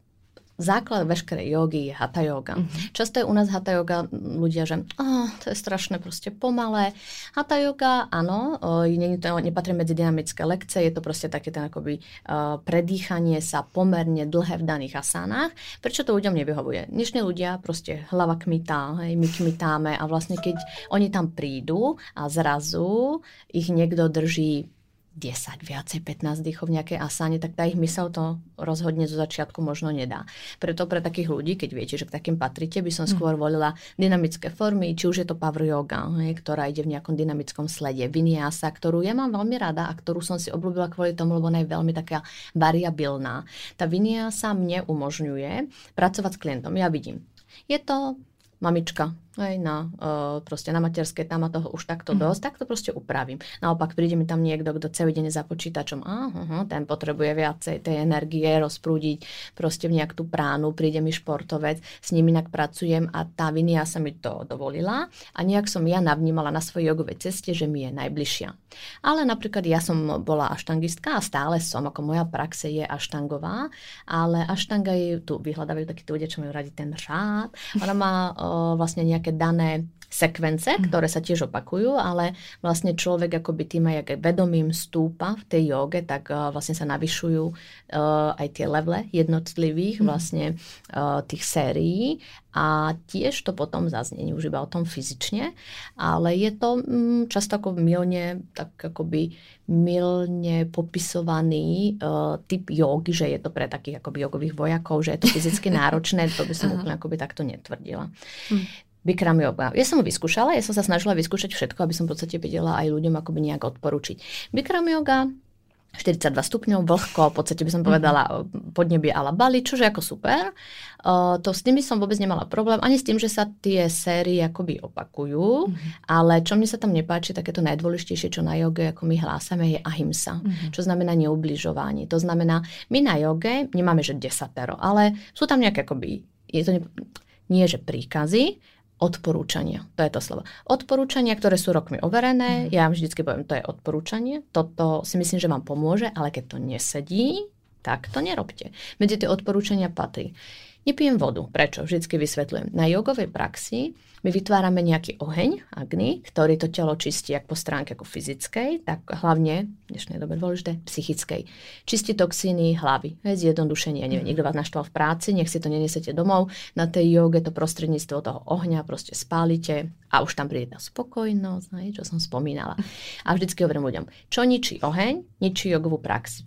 Speaker 2: základ veškerej jogy je hatha yoga. Mm-hmm. Často je u nás hatha yoga ľudia, že oh, to je strašné proste pomalé. Hatha yoga, áno, nie, to nepatrí medzi dynamické lekcie, je to proste také ten akoby uh, predýchanie sa pomerne dlhé v daných asánach. Prečo to ľuďom nevyhovuje? Dnešní ľudia proste hlava kmitá, hej, my kmitáme a vlastne keď oni tam prídu a zrazu ich niekto drží desať, viacej, pätnásť dýchov v nejakej asáne, tak tá ich mysel to rozhodne zo začiatku možno nedá. Preto pre takých ľudí, keď viete, že k takým patríte, by som skôr volila dynamické formy, či už je to power yoga, hej, ktorá ide v nejakom dynamickom slede, vinyasa, ktorú ja mám veľmi rada a ktorú som si obľúbila kvôli tomu, lebo ona je veľmi taká variabilná. Tá vinyasa mne umožňuje pracovať s klientom. Ja vidím, je to mamička, aj na, uh, proste na materskej, tam a toho už takto mm. dosť, tak to proste upravím. Naopak príde mi tam niekto, kto celý deň za počítačom, aha, ten potrebuje viacej tej energie rozprúdiť proste v nejak tú pránu, príde mi športovec, s ním inak pracujem a tá vinia sa mi to dovolila a nejak som ja navnímala na svojej jogovej ceste, že mi je najbližšia. Ale napríklad ja som bola aštangistka a stále som, ako moja praxe je aštangová, ale aštanga je, tu vyhľadávajú takí ľudia, čo majú radi ten řád, ona má uh, vlastne nejaké dané sekvence, ktoré sa tiež opakujú, ale vlastne človek akoby tým aj vedomím stúpa v tej joge, tak uh, vlastne sa navyšujú uh, aj tie levele jednotlivých vlastne uh, tých sérií a tiež to potom zaznie už iba o tom fyzične, ale je to um, často ako milne, tak akoby milne popisovaný uh, typ jogy, že je to pre takých akoby jogových vojakov, že je to fyzicky náročné, to by som úplne akoby takto netvrdila. Hmm. Bikram yoga. Ja som ho vyskúšala, ja som sa snažila vyskúšať všetko, aby som v podstate vedela aj ľuďom akoby nejak odporučiť. Bikram yoga, štyridsaťdva stupňov, vlhko, v podstate by som povedala podnebie a la Bali, čože ako super. Uh, to s tým by som vôbec nemala problém, ani s tým, že sa tie série akoby opakujú, mm-hmm. ale čo mne sa tam nepáči, také to najdôležitejšie, čo na joge, ako my hlásame, je ahimsa, mm-hmm. čo znamená neubližovanie. To znamená, my na joge nemáme, že desatero, ale sú tam nejaké akoby, je to ne, nie, že príkazy, odporúčania. To je to slovo. Odporúčania, ktoré sú rokmi overené, mm. ja vám vždycky poviem, to je odporúčanie, toto si myslím, že vám pomôže, ale keď to nesedí, tak to nerobte. Medzi tie odporúčania patrí. Nepijem vodu. Prečo? Vždycky vysvetľujem. Na jogovej praxi my vytvárame nejaký oheň, agni, ktorý to telo čistí jak po stránke ako fyzickej, tak hlavne, v dnešnej dobe dôležité, psychickej. Čistí toxíny hlavy. Zjednodušenie. Neviem, niekto vás naštval v práci, nech si to nenesete domov. Na tej joge to prostredníctvo toho ohňa proste spálite a už tam príde tá spokojnosť, čo som spomínala. A vždycky hovorím ľuďom, čo ničí oheň, ničí jogovú prax. Preto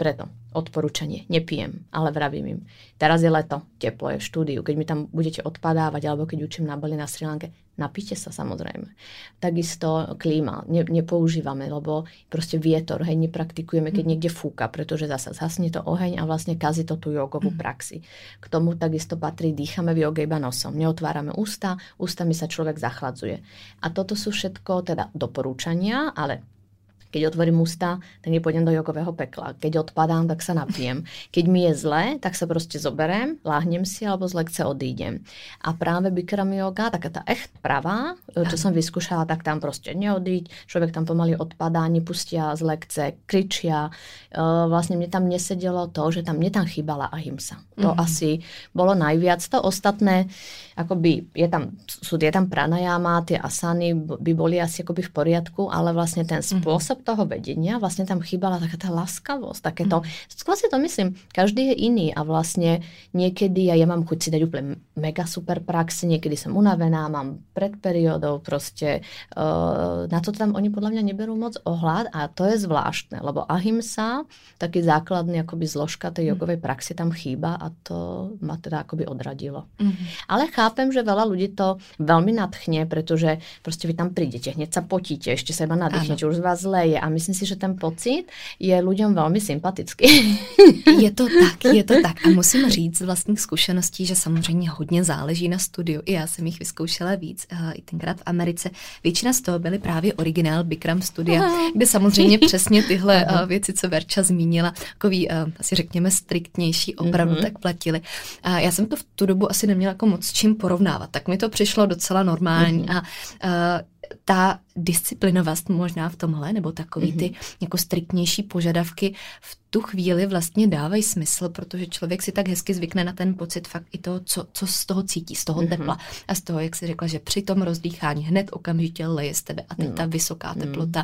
Speaker 2: odporúčanie, nepijem, ale vravím im. Teraz je leto, teplo je v štúdiu, keď mi tam budete odpadávať, alebo keď učím na Bali, na Sri Lanke, napíte sa samozrejme. Takisto klíma, ne, nepoužívame, lebo proste vietor, hej, nepraktikujeme, keď niekde fúka, pretože zasa zhasne to oheň a vlastne kazí to tú jogovú praxi. K tomu takisto patrí, dýchame v joge iba nosom, neotvárame ústa, ústami sa človek zachladzuje. A toto sú všetko teda doporúčania, ale keď otvorím ústa, tak nepôjdem do jogového pekla. Keď odpadám, tak sa napijem. Keď mi je zle, tak sa proste zoberiem, láhnem si alebo z lekce odídem. A práve Bikram yoga, taká tá echt pravá, čo som vyskúšala, tak tam proste neodíť. Človek tam pomaly odpadá, nepustia z lekce, kričia. Vlastne mne tam nesedelo to, že tam mne tam chýbala ahimsa. To mm-hmm. asi bolo najviac. To ostatné, akoby je tam, sú, je tam pranajama, tie asany by boli asi akoby v poriadku, ale vlastne ten spôsob mm-hmm. toho vedenia, vlastne tam chýbala taká tá láskavosť, takéto, mm. skôr si to myslím, každý je iný a vlastne niekedy ja, ja mám chuť si dať úplne mega super praxi, niekedy som unavená, mám pred periódou proste, uh, na to tam oni podľa mňa neberú moc ohľad a to je zvláštne, lebo ahimsa, taký základný akoby zložka tej jogovej praxi tam chýba a to ma teda akoby odradilo. Mm. Ale chápem, že veľa ľudí to veľmi nadchne, pretože proste vy tam prídete, hneď sa potíte, ešte sa iba nadýchnete, už z vás zle je a myslím si, že ten pocit je ľuďom veľmi sympatický.
Speaker 1: Je to tak, je to tak. A musím říct z vlastních zkušeností, že samozřejmě hodně záleží na studiu. I já jsem jich vyzkoušela víc, i tenkrát v Americe. Většina z toho byly právě originál Bikram studia, aha. kde samozřejmě přesně tyhle aha. věci, co Verča zmínila, takový, asi řekněme, striktnější opravdu mm-hmm. tak platily. A já jsem to v tu dobu asi neměla jako moc čím porovnávat, tak mi to přišlo docela normální mm-hmm. a, a ta disciplinovost možná v tomhle, nebo takový ty mm-hmm. jako striktnější požadavky v tu chvíli vlastně dávají smysl, protože člověk si tak hezky zvykne na ten pocit fakt i toho, co, co z toho cítí, z toho mm-hmm. tepla a z toho, jak jsi řekla, že při tom rozdýchání hned okamžitě leje z tebe a teď mm. ta vysoká teplota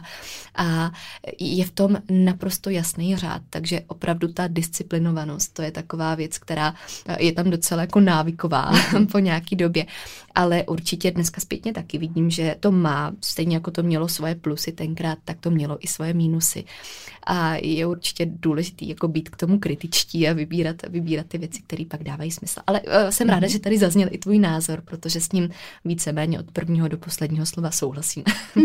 Speaker 1: a je v tom naprosto jasný řád, takže opravdu ta disciplinovanost, to je taková věc, která je tam docela jako návyková mm-hmm. po nějaký době, ale určitě dneska zpětně taky vidím, že to má, stejně jako to mělo svoje plusy tenkrát, tak to mělo i svoje mínusy a je určitě důležitý jako být k tomu kritičtí a vybírat, vybírat ty věci, které pak dávají smysl. Ale uh, jsem ráda, mm-hmm. že tady zazněl i tvůj názor, protože s ním víceméně od prvního do posledního slova souhlasím.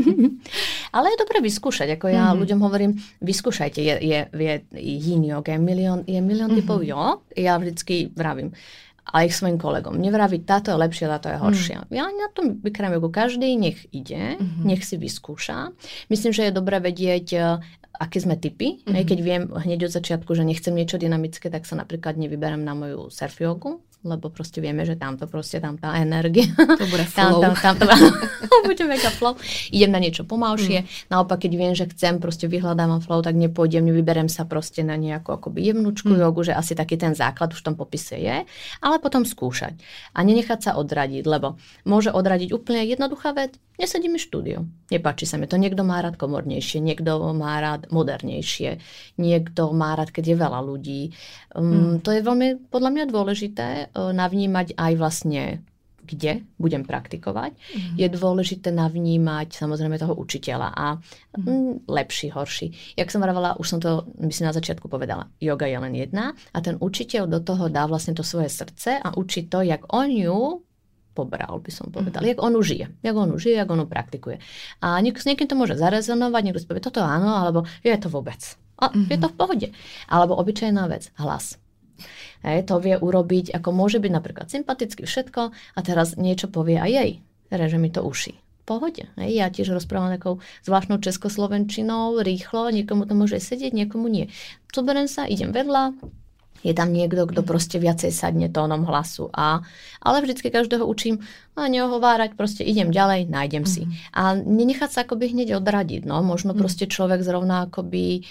Speaker 2: Ale je dobré vyskúšať, ako ja mm-hmm. ľuďom hovorím, vyskúšajte, je, je, je yin yoga, je milión, je milión mm-hmm. typov jo, ja vždycky vravím, a ich svojim kolegom. Nevraviť, táto je lepšia, táto je horšia. Mm. Ja na tom Bikram jogu každý nech ide, mm-hmm. nech si vyskúša. Myslím, že je dobré vedieť, aké sme typy. Mm-hmm. Keď viem hneď od začiatku, že nechcem niečo dynamické, tak sa napríklad nevyberám na moju surf jogu, lebo proste vieme, že tamto proste, tam tá energia.
Speaker 1: To bude flow.
Speaker 2: Tam, tam, tam, bude mega flow. Idem na niečo pomalšie. Mm. Naopak, keď viem, že chcem, proste vyhľadávam flow, tak nepôjdem, nevyberem sa proste na nejakú akoby jemnúčku mm. jogu, že asi taký ten základ už v tom popise je, ale potom skúšať. A nenechať sa odradiť, lebo môže odradiť úplne jednoduchá vec. Nesedí mi štúdio. Nepáči sa mi to. Niekto má rád komornejšie, niekto má rád modernejšie, niekto má rád, keď je veľa ľudí. Um, mm. To je veľmi podľa mňa dôležité navnímať aj vlastne, kde budem praktikovať. Mm. Je dôležité navnímať samozrejme toho učiteľa a mm. lepší, horší. Jak som vravala, už som to myslím na začiatku povedala, yoga je len jedna a ten učiteľ do toho dá vlastne to svoje srdce a učí to, jak on ju pobral, by som povedala. Mm. Jak on žije. Jak on žije, jak on praktikuje. A niek- s niekým to môže zarezonovať, niekto si povie, toto áno, alebo je to vôbec. A mm-hmm. je to v pohode. Alebo obyčajná vec, hlas. Hej, to vie urobiť, ako môže byť napríklad sympaticky všetko a teraz niečo povie aj jej. Reže mi to uši. V pohode. Hej, ja tiež rozprávam takou zvláštnou českoslovenčinou, rýchlo, niekomu to môže sedieť, niekomu nie. Zoberiem sa, idem vedľa, je tam niekto, kto proste viacej sadne tónom hlasu. A, ale vždycky každého učím a neohovárať, proste idem ďalej, nájdem si. Mm-hmm. A nenechať sa akoby hneď odradiť. No. Možno proste človek zrovna akoby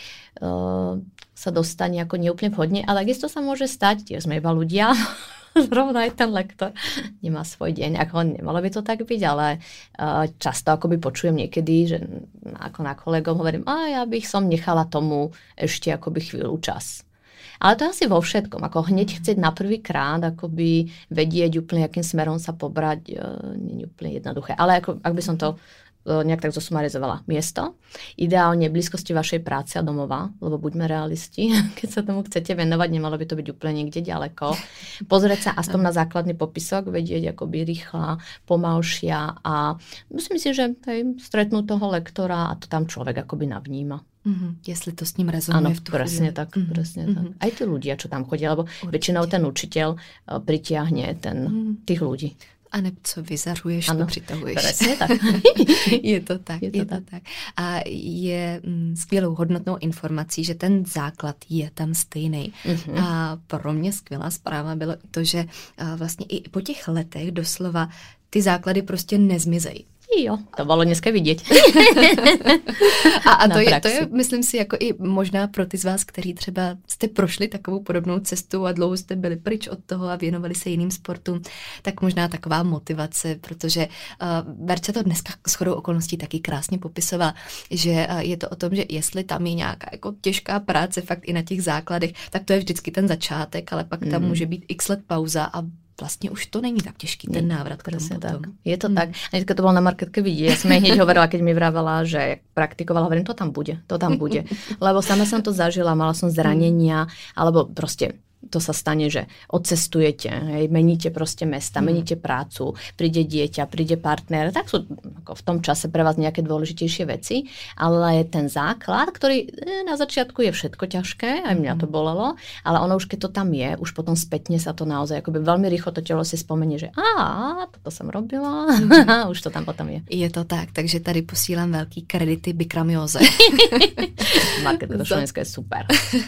Speaker 2: uh, sa dostane ako neúplne vhodne, ale takisto sa môže stať, tiež sme iba ľudia, zrovna aj ten lektor nemá svoj deň, ako nemalo by to tak byť, ale uh, často akoby počujem niekedy, že ako na kolegom hovorím, a ja bych som nechala tomu ešte akoby chvíľu čas. Ale to asi vo všetkom, ako hneď chcieť na prvý krát, akoby vedieť úplne, akým smerom sa pobrať, nie je úplne jednoduché. Ale ako, ak by som to nejak tak zosumarizovala. Miesto, ideálne v blízkosti vašej práce a domova, lebo buďme realisti, keď sa tomu chcete venovať, nemalo by to byť úplne niekde ďaleko. Pozrieť sa aspoň na základný popisok, vedieť akoby rýchla, pomalšia a myslím si, že hej, stretnú toho lektora a to tam človek akoby navníma.
Speaker 1: Mm-hmm. Jestli to s ním rezonuje v tu
Speaker 2: presne
Speaker 1: chvíli.
Speaker 2: tak,
Speaker 1: mm-hmm.
Speaker 2: presne
Speaker 1: mm-hmm.
Speaker 2: tak. Aj tí ľudia, čo tam chodia, lebo určite. Väčšinou ten učiteľ pritiahne ten, mm-hmm. tých ľudí.
Speaker 1: A ne, co vyzařuješ, ano, to přitahuješ.
Speaker 2: Presne tak.
Speaker 1: je to tak, je to, je to tak. tak. A je mm, skvělou hodnotnou informací, že ten základ je tam stejný. Mm-hmm. A pro mě skvělá zpráva bylo to, že a vlastně i po těch letech doslova ty základy prostě nezmizejí.
Speaker 2: Jo, to bolo dneska vidieť.
Speaker 1: a a to, je, to je, myslím si, jako i možná pro ty z vás, kteří třeba jste prošli takovou podobnou cestu a dlouho jste byli pryč od toho a věnovali se jiným sportům, tak možná taková motivace, protože uh, Verča to dneska shodou okolností taky krásně popisovala, že uh, je to o tom, že jestli tam je nějaká jako těžká práce fakt i na těch základech, tak to je vždycky ten začátek, ale pak tam mm. může být x let pauza a vlastne už to není tak těžký, ten návrat k tomu potom.
Speaker 2: Je to hmm. tak. A keď to bolo na marketke vidieť, ja som jej hneď hovorila, keď mi vravala, že praktikovala, hovorím, to tam bude, to tam bude. Lebo sama som to zažila, mala som zranenia, alebo proste to sa stane, že odcestujete, hej, meníte proste mesta, mm. meníte prácu, príde dieťa, príde partner, tak sú ako v tom čase pre vás nejaké dôležitejšie veci, ale ten základ, ktorý na začiatku je všetko ťažké, aj mňa to bolelo, ale ono už keď to tam je, už potom spätne sa to naozaj akoby veľmi rýchlo to telo si spomenie, že á, toto som robila, mm. už to tam potom je.
Speaker 1: Je to tak, takže tady posílám veľký kredity Bikramioze.
Speaker 2: Marketka do Slovenska je super.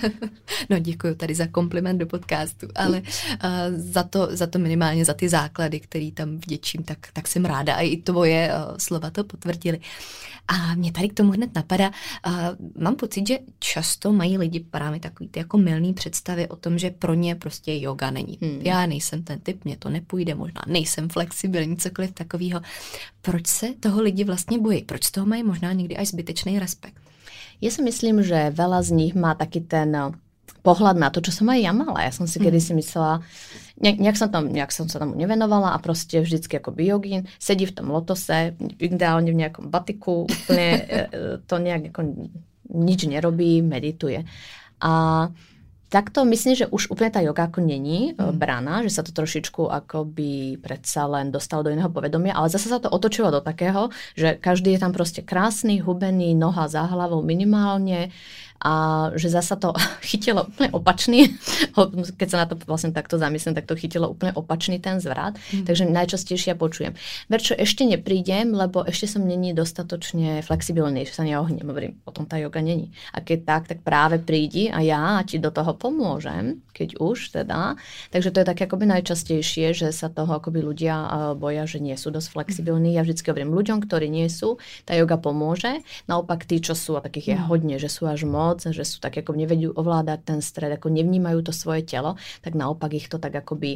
Speaker 1: No děkuju tady za kompliment do podcastu, ale uh, za, to, za to minimálně za ty základy, který tam vděčím, tak, tak jsem ráda. A i tvoje uh, slova to potvrdily. A mě tady k tomu hned napadá, uh, mám pocit, že často mají lidi právě takový ty jako mylný představy o tom, že pro ně prostě yoga není. Hmm. Já nejsem ten typ, mně to nepůjde, možná nejsem flexibilní, cokoliv takového. Proč se toho lidi vlastně bojí? Proč z toho mají možná někdy až zbytečný respekt?
Speaker 2: Ja si myslím, že veľa z nich má taký ten pohľad na to, čo som aj ja mala. Ja som si mm. kedysi myslela, nejak, nejak, som tam, nejak som sa tomu nevenovala a proste vždycky ako biogín, sedí v tom lotose, ideálne v nejakom batiku, úplne to nejak ako nič nerobí, medituje. A takto myslím, že už úplne tá yoga ako není mm. braná, že sa to trošičku akoby predsa len dostalo do iného povedomia, ale zase sa to otočilo do takého, že každý je tam proste krásny, hubený, noha za hlavou minimálne a že zasa to chytilo úplne opačný, keď sa na to vlastne takto zamyslím, tak to chytilo úplne opačný ten zvrat, mm. takže najčastejšie ja počujem. Verčo, ešte neprídem, lebo ešte som není dostatočne flexibilný, že sa neohnem, hovorím, potom tá yoga není. A keď tak, tak práve prídi a ja ti do toho pomôžem, keď už teda. Takže to je také akoby najčastejšie, že sa toho akoby ľudia boja, že nie sú dosť flexibilní. Ja vždycky hovorím ľuďom, ktorí nie sú, tá yoga pomôže. Naopak tí, čo sú, a takých je hodne, že sú až moc, že sú tak ako nevedú ovládať ten stred, ako nevnímajú to svoje telo, tak naopak ich to tak akoby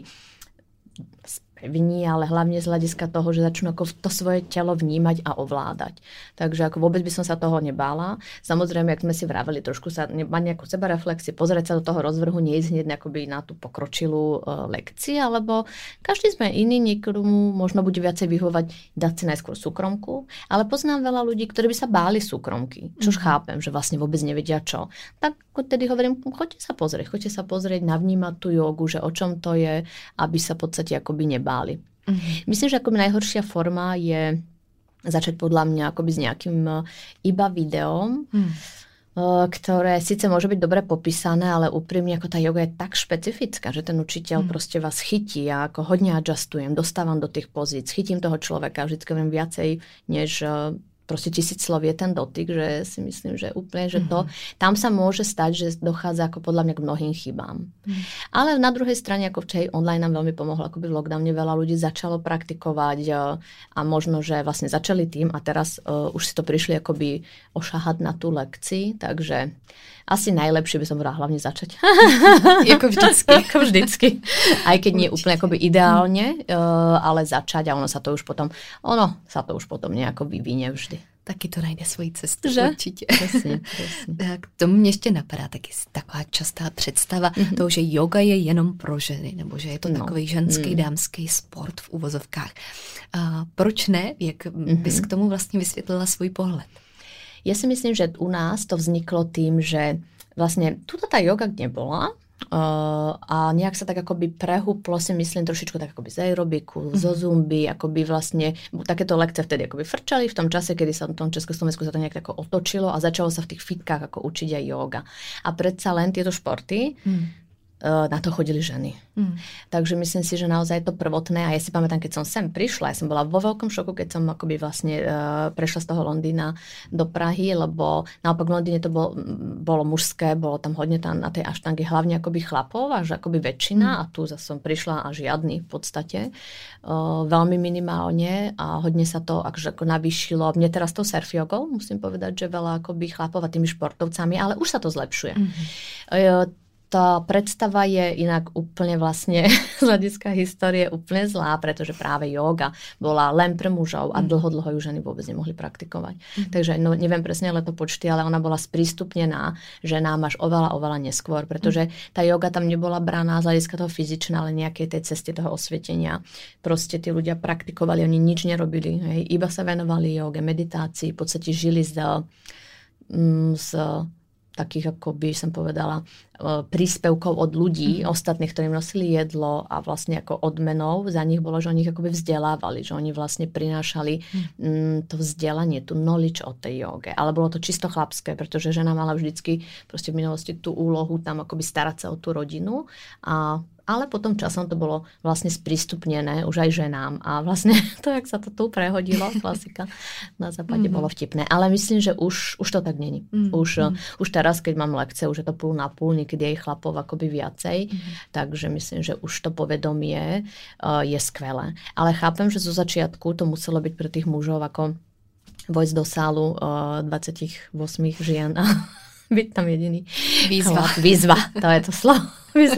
Speaker 2: spevní, ale hlavne z hľadiska toho, že začnú ako to svoje telo vnímať a ovládať. Takže ako vôbec by som sa toho nebála. Samozrejme, jak sme si vraveli, trošku sa mať nejakú sebareflexiu, pozrieť sa do toho rozvrhu, nie ísť hneď akoby na tú pokročilú uh, lekciu, alebo každý sme iný, niekomu možno bude viacej vyhovať dať si najskôr súkromku, ale poznám veľa ľudí, ktorí by sa báli súkromky, čož mm. chápem, že vlastne vôbec nevedia čo. Tak tedy hovorím, choďte sa pozrieť, choďte sa pozrieť, navnímať tú jogu, že o čom to je, aby sa v podstate akoby nebáli. Mm-hmm. Myslím, že akoby najhoršia forma je začať podľa mňa akoby s nejakým iba videom, mm. ktoré síce môže byť dobre popísané, ale úprimne ako tá yoga je tak špecifická, že ten učiteľ mm. proste vás chytí a ako hodne adjustujem, dostávam do tých pozíc, chytím toho človeka, vždycky viem viacej, než proste tisíc slov je ten dotyk, že si myslím, že úplne, že to, mm-hmm. tam sa môže stať, že dochádza ako podľa mňa k mnohým chybám. Mm. Ale na druhej strane, ako včera online nám veľmi pomohlo, akoby v lockdowne veľa ľudí začalo praktikovať a možno, že vlastne začali tým a teraz uh, už si to prišli akoby ošahať na tú lekcii, takže asi najlepšie by som vrala hlavne začať.
Speaker 1: Jako vždycky.
Speaker 2: Ako vždycky. Aj keď nie úplne akoby ideálne, uh, ale začať a ono sa to už potom, ono sa to už potom nejako vyvinie vždy.
Speaker 1: Taky to najde svoji cestu,
Speaker 2: že?
Speaker 1: Určitě.
Speaker 2: Presne, presne.
Speaker 1: K tomu mě ještě napadá taky taková častá představa mm-hmm. toho, že yoga je jenom pro ženy, nebo že je to no. takový ženský, mm. dámský sport v uvozovkách. A proč ne? Jak mm-hmm. bys k tomu vlastně vysvětlila svůj pohled?
Speaker 2: Ja si myslím, že u nás to vzniklo tým, že vlastne tuto tá yoga nebola, Uh, a nejak sa tak akoby prehúplo, si myslím, trošičku tak akoby z aerobiku, mm-hmm. zo zumby, akoby vlastne takéto lekcie vtedy akoby frčali v tom čase, kedy sa v tom Československu sa to nejak tako otočilo a začalo sa v tých fitkách ako učiť aj yoga. A predsa len tieto športy mm. na to chodili ženy. Mm. Takže myslím si, že naozaj to prvotné, a ja si pamätám, keď som sem prišla, ja som bola vo veľkom šoku, keď som akoby vlastne uh, prešla z toho Londýna do Prahy, lebo naopak v Londýne to bolo, bolo mužské, bolo tam hodne tam na tej aštangy hlavne akoby chlapov, až akoby väčšina, mm. a tu zase som prišla a žiadny v podstate. Uh, veľmi minimálne a hodne sa to akože ako navýšilo. Mne teraz to surf jogou, musím povedať, že veľa akoby chlapov a tými športovcami, ale už sa to zlepšuje. Mm. Uh, Tá predstava je inak úplne vlastne z hľadiska histórie úplne zlá, pretože práve yoga bola len pre mužov a dlho, dlho ju ženy vôbec nemohli praktikovať. Mm. Takže no, neviem presne letopočty, ale ona bola sprístupnená ženám až oveľa, oveľa neskôr, pretože tá yoga tam nebola braná z hľadiska toho fyzičná, ale nejakej tej cesty toho osvietenia. Proste tí ľudia praktikovali, oni nič nerobili, hej, iba sa venovali joge, meditácii, v podstate žili z, z takých, ako by som povedala, príspevkov od ľudí, mm. ostatných, ktorým nosili jedlo a vlastne ako odmenou za nich bolo, že oni ich akoby vzdelávali, že oni vlastne prinášali mm. to vzdelanie, tú knowledge o tej joge. Ale bolo to čisto chlapské, pretože žena mala vždycky proste v minulosti tú úlohu tam akoby starať sa o tú rodinu a ale potom časom to bolo vlastne sprístupnené už aj ženám. A vlastne to, jak sa to tu prehodilo, klasika na západe, mm-hmm. bolo vtipné. Ale myslím, že už, už to tak není. Mm-hmm. Už, už teraz, keď mám lekcie, už je to púl na púl, niekedy aj chlapov akoby viacej. Mm-hmm. Takže myslím, že už to povedomie uh, je skvelé. Ale chápem, že zo začiatku to muselo byť pre tých mužov ako vojsť do sálu uh, dvadsaťosem žien a byť tam jediný.
Speaker 1: Výzva.
Speaker 2: Výzva, to je to slovo.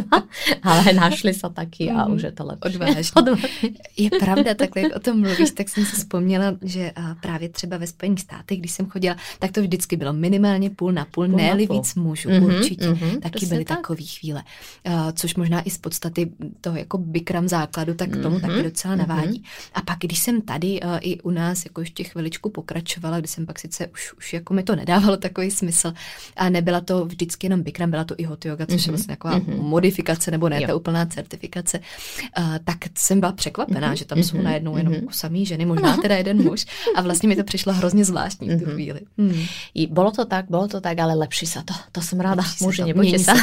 Speaker 2: Ale našli sa taky a mm, už je to lepší.
Speaker 1: Odvážně. Je pravda, takhle jak o tom mluvíš, tak jsem si vzpomněla, že právě třeba ve Spojených státech, když jsem chodila, tak to vždycky bylo minimálně půl na půl, půl ne-li víc mužů, mm-hmm, určitě. Mm-hmm, taky byly tak. takové chvíle. Uh, což možná i z podstaty toho jako bikram základu, tak k tomu mm-hmm, taky docela navádí. Mm-hmm. A pak, když jsem tady uh, i u nás jako ještě chviličku pokračovala, když jsem pak sice už, už jako mi to nedávalo takový smysl a nebyla to vždycky jenom bikram, byla to i hot yoga, což mm-hmm, je vlastně taková mm-hmm. modifikace, nebo ne, jo. ta úplná certifikace, uh, tak jsem byla překvapená, mm-hmm. že tam mm-hmm. jsou najednou jenom mm-hmm. samý ženy, možná teda jeden muž. A vlastně mi to přišlo hrozně zvláštní v tu chvíli. Mm.
Speaker 2: I bolo to tak, bolo to tak, ale lepší sa to. To som ráda. Muži, nebojte sa.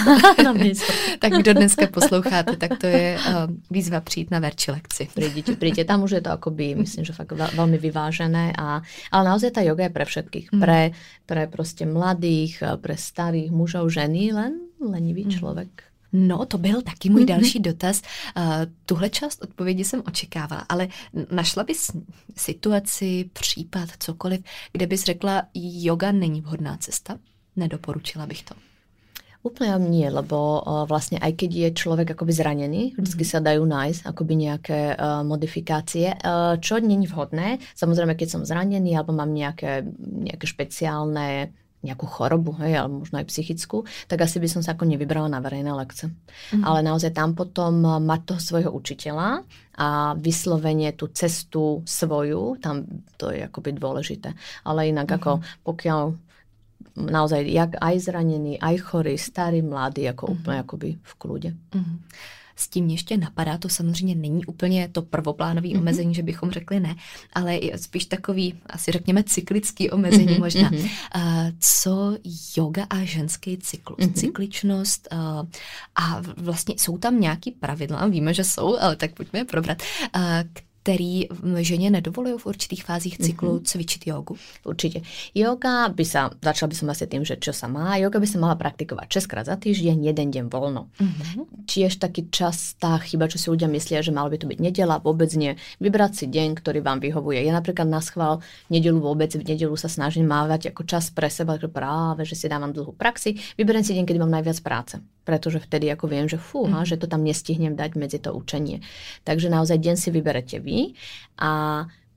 Speaker 1: Tak kdo dneska posloucháte, tak to je uh, výzva přijít na verči lekci.
Speaker 2: Príďte, príďte. Tam už je to akoby, myslím, že fakt veľmi vyvážené. A, ale naozaj tá joga je pre všetkých. Mm. Pre, pre proste mladých, pre starých mužov, ženy, len lenivý mm. človek.
Speaker 1: No, to byl taky můj další dotaz. Uh, tuhle část odpovědi jsem očekávala, ale našla bys situaci, případ, cokoliv, kde bys řekla, yoga není vhodná cesta? Nedoporučila bych to.
Speaker 2: Úplne nie, lebo uh, vlastne aj keď je človek akoby zranený, vždycky sa dajú nájsť akoby nejaké uh, modifikácie, uh, čo není vhodné. Samozrejme, keď som zranený alebo mám nejaké, nejaké špeciálne nejakú chorobu, hej, alebo možno aj psychickú, tak asi by som sa ako nevybrala na verejné lekce. Mm. Ale naozaj tam potom mať toho svojho učiteľa a vyslovene tú cestu svoju, tam to je akoby dôležité. Ale inak mm. ako pokiaľ naozaj jak aj zranený, aj chorý, starý, mladý, ako mm. úplne akoby v kľude. Mm.
Speaker 1: S tím ještě napadá, to samozřejmě není úplně to prvoplánové mm-hmm. omezení, že bychom řekli ne, ale je spíš takový, asi řekněme, cyklický omezení mm-hmm. možná. Uh, co yoga a ženský cyklus, mm-hmm. cykličnost uh, a vlastně jsou tam nějaký pravidla, víme, že jsou, ale tak pojďme je probrat, uh, který ženě nedovolujú v určitých fázích cyklu mm-hmm. cvičiť jogu?
Speaker 2: Určite. Yoga by sa, začala by som asi tým, že čo sa má, yoga by sa mala praktikovať šesťkrát za týždeň, jeden deň voľno. Mm-hmm. Tiež taký častá chyba, čo si ľudia myslia, že malo by to byť nedeľa, vôbec nie. Vybrať si deň, ktorý vám vyhovuje. Ja napríklad na schvál nedeľu vôbec, v nedeľu sa snažím mávať ako čas pre seba, práve, že si dávam dlhú praxi. Vyberiem si deň, kedy mám najviac práce. Pretože vtedy ako viem, že fúha, mm. že to tam nestihnem dať medzi to učenie. Takže naozaj deň si vyberete vy a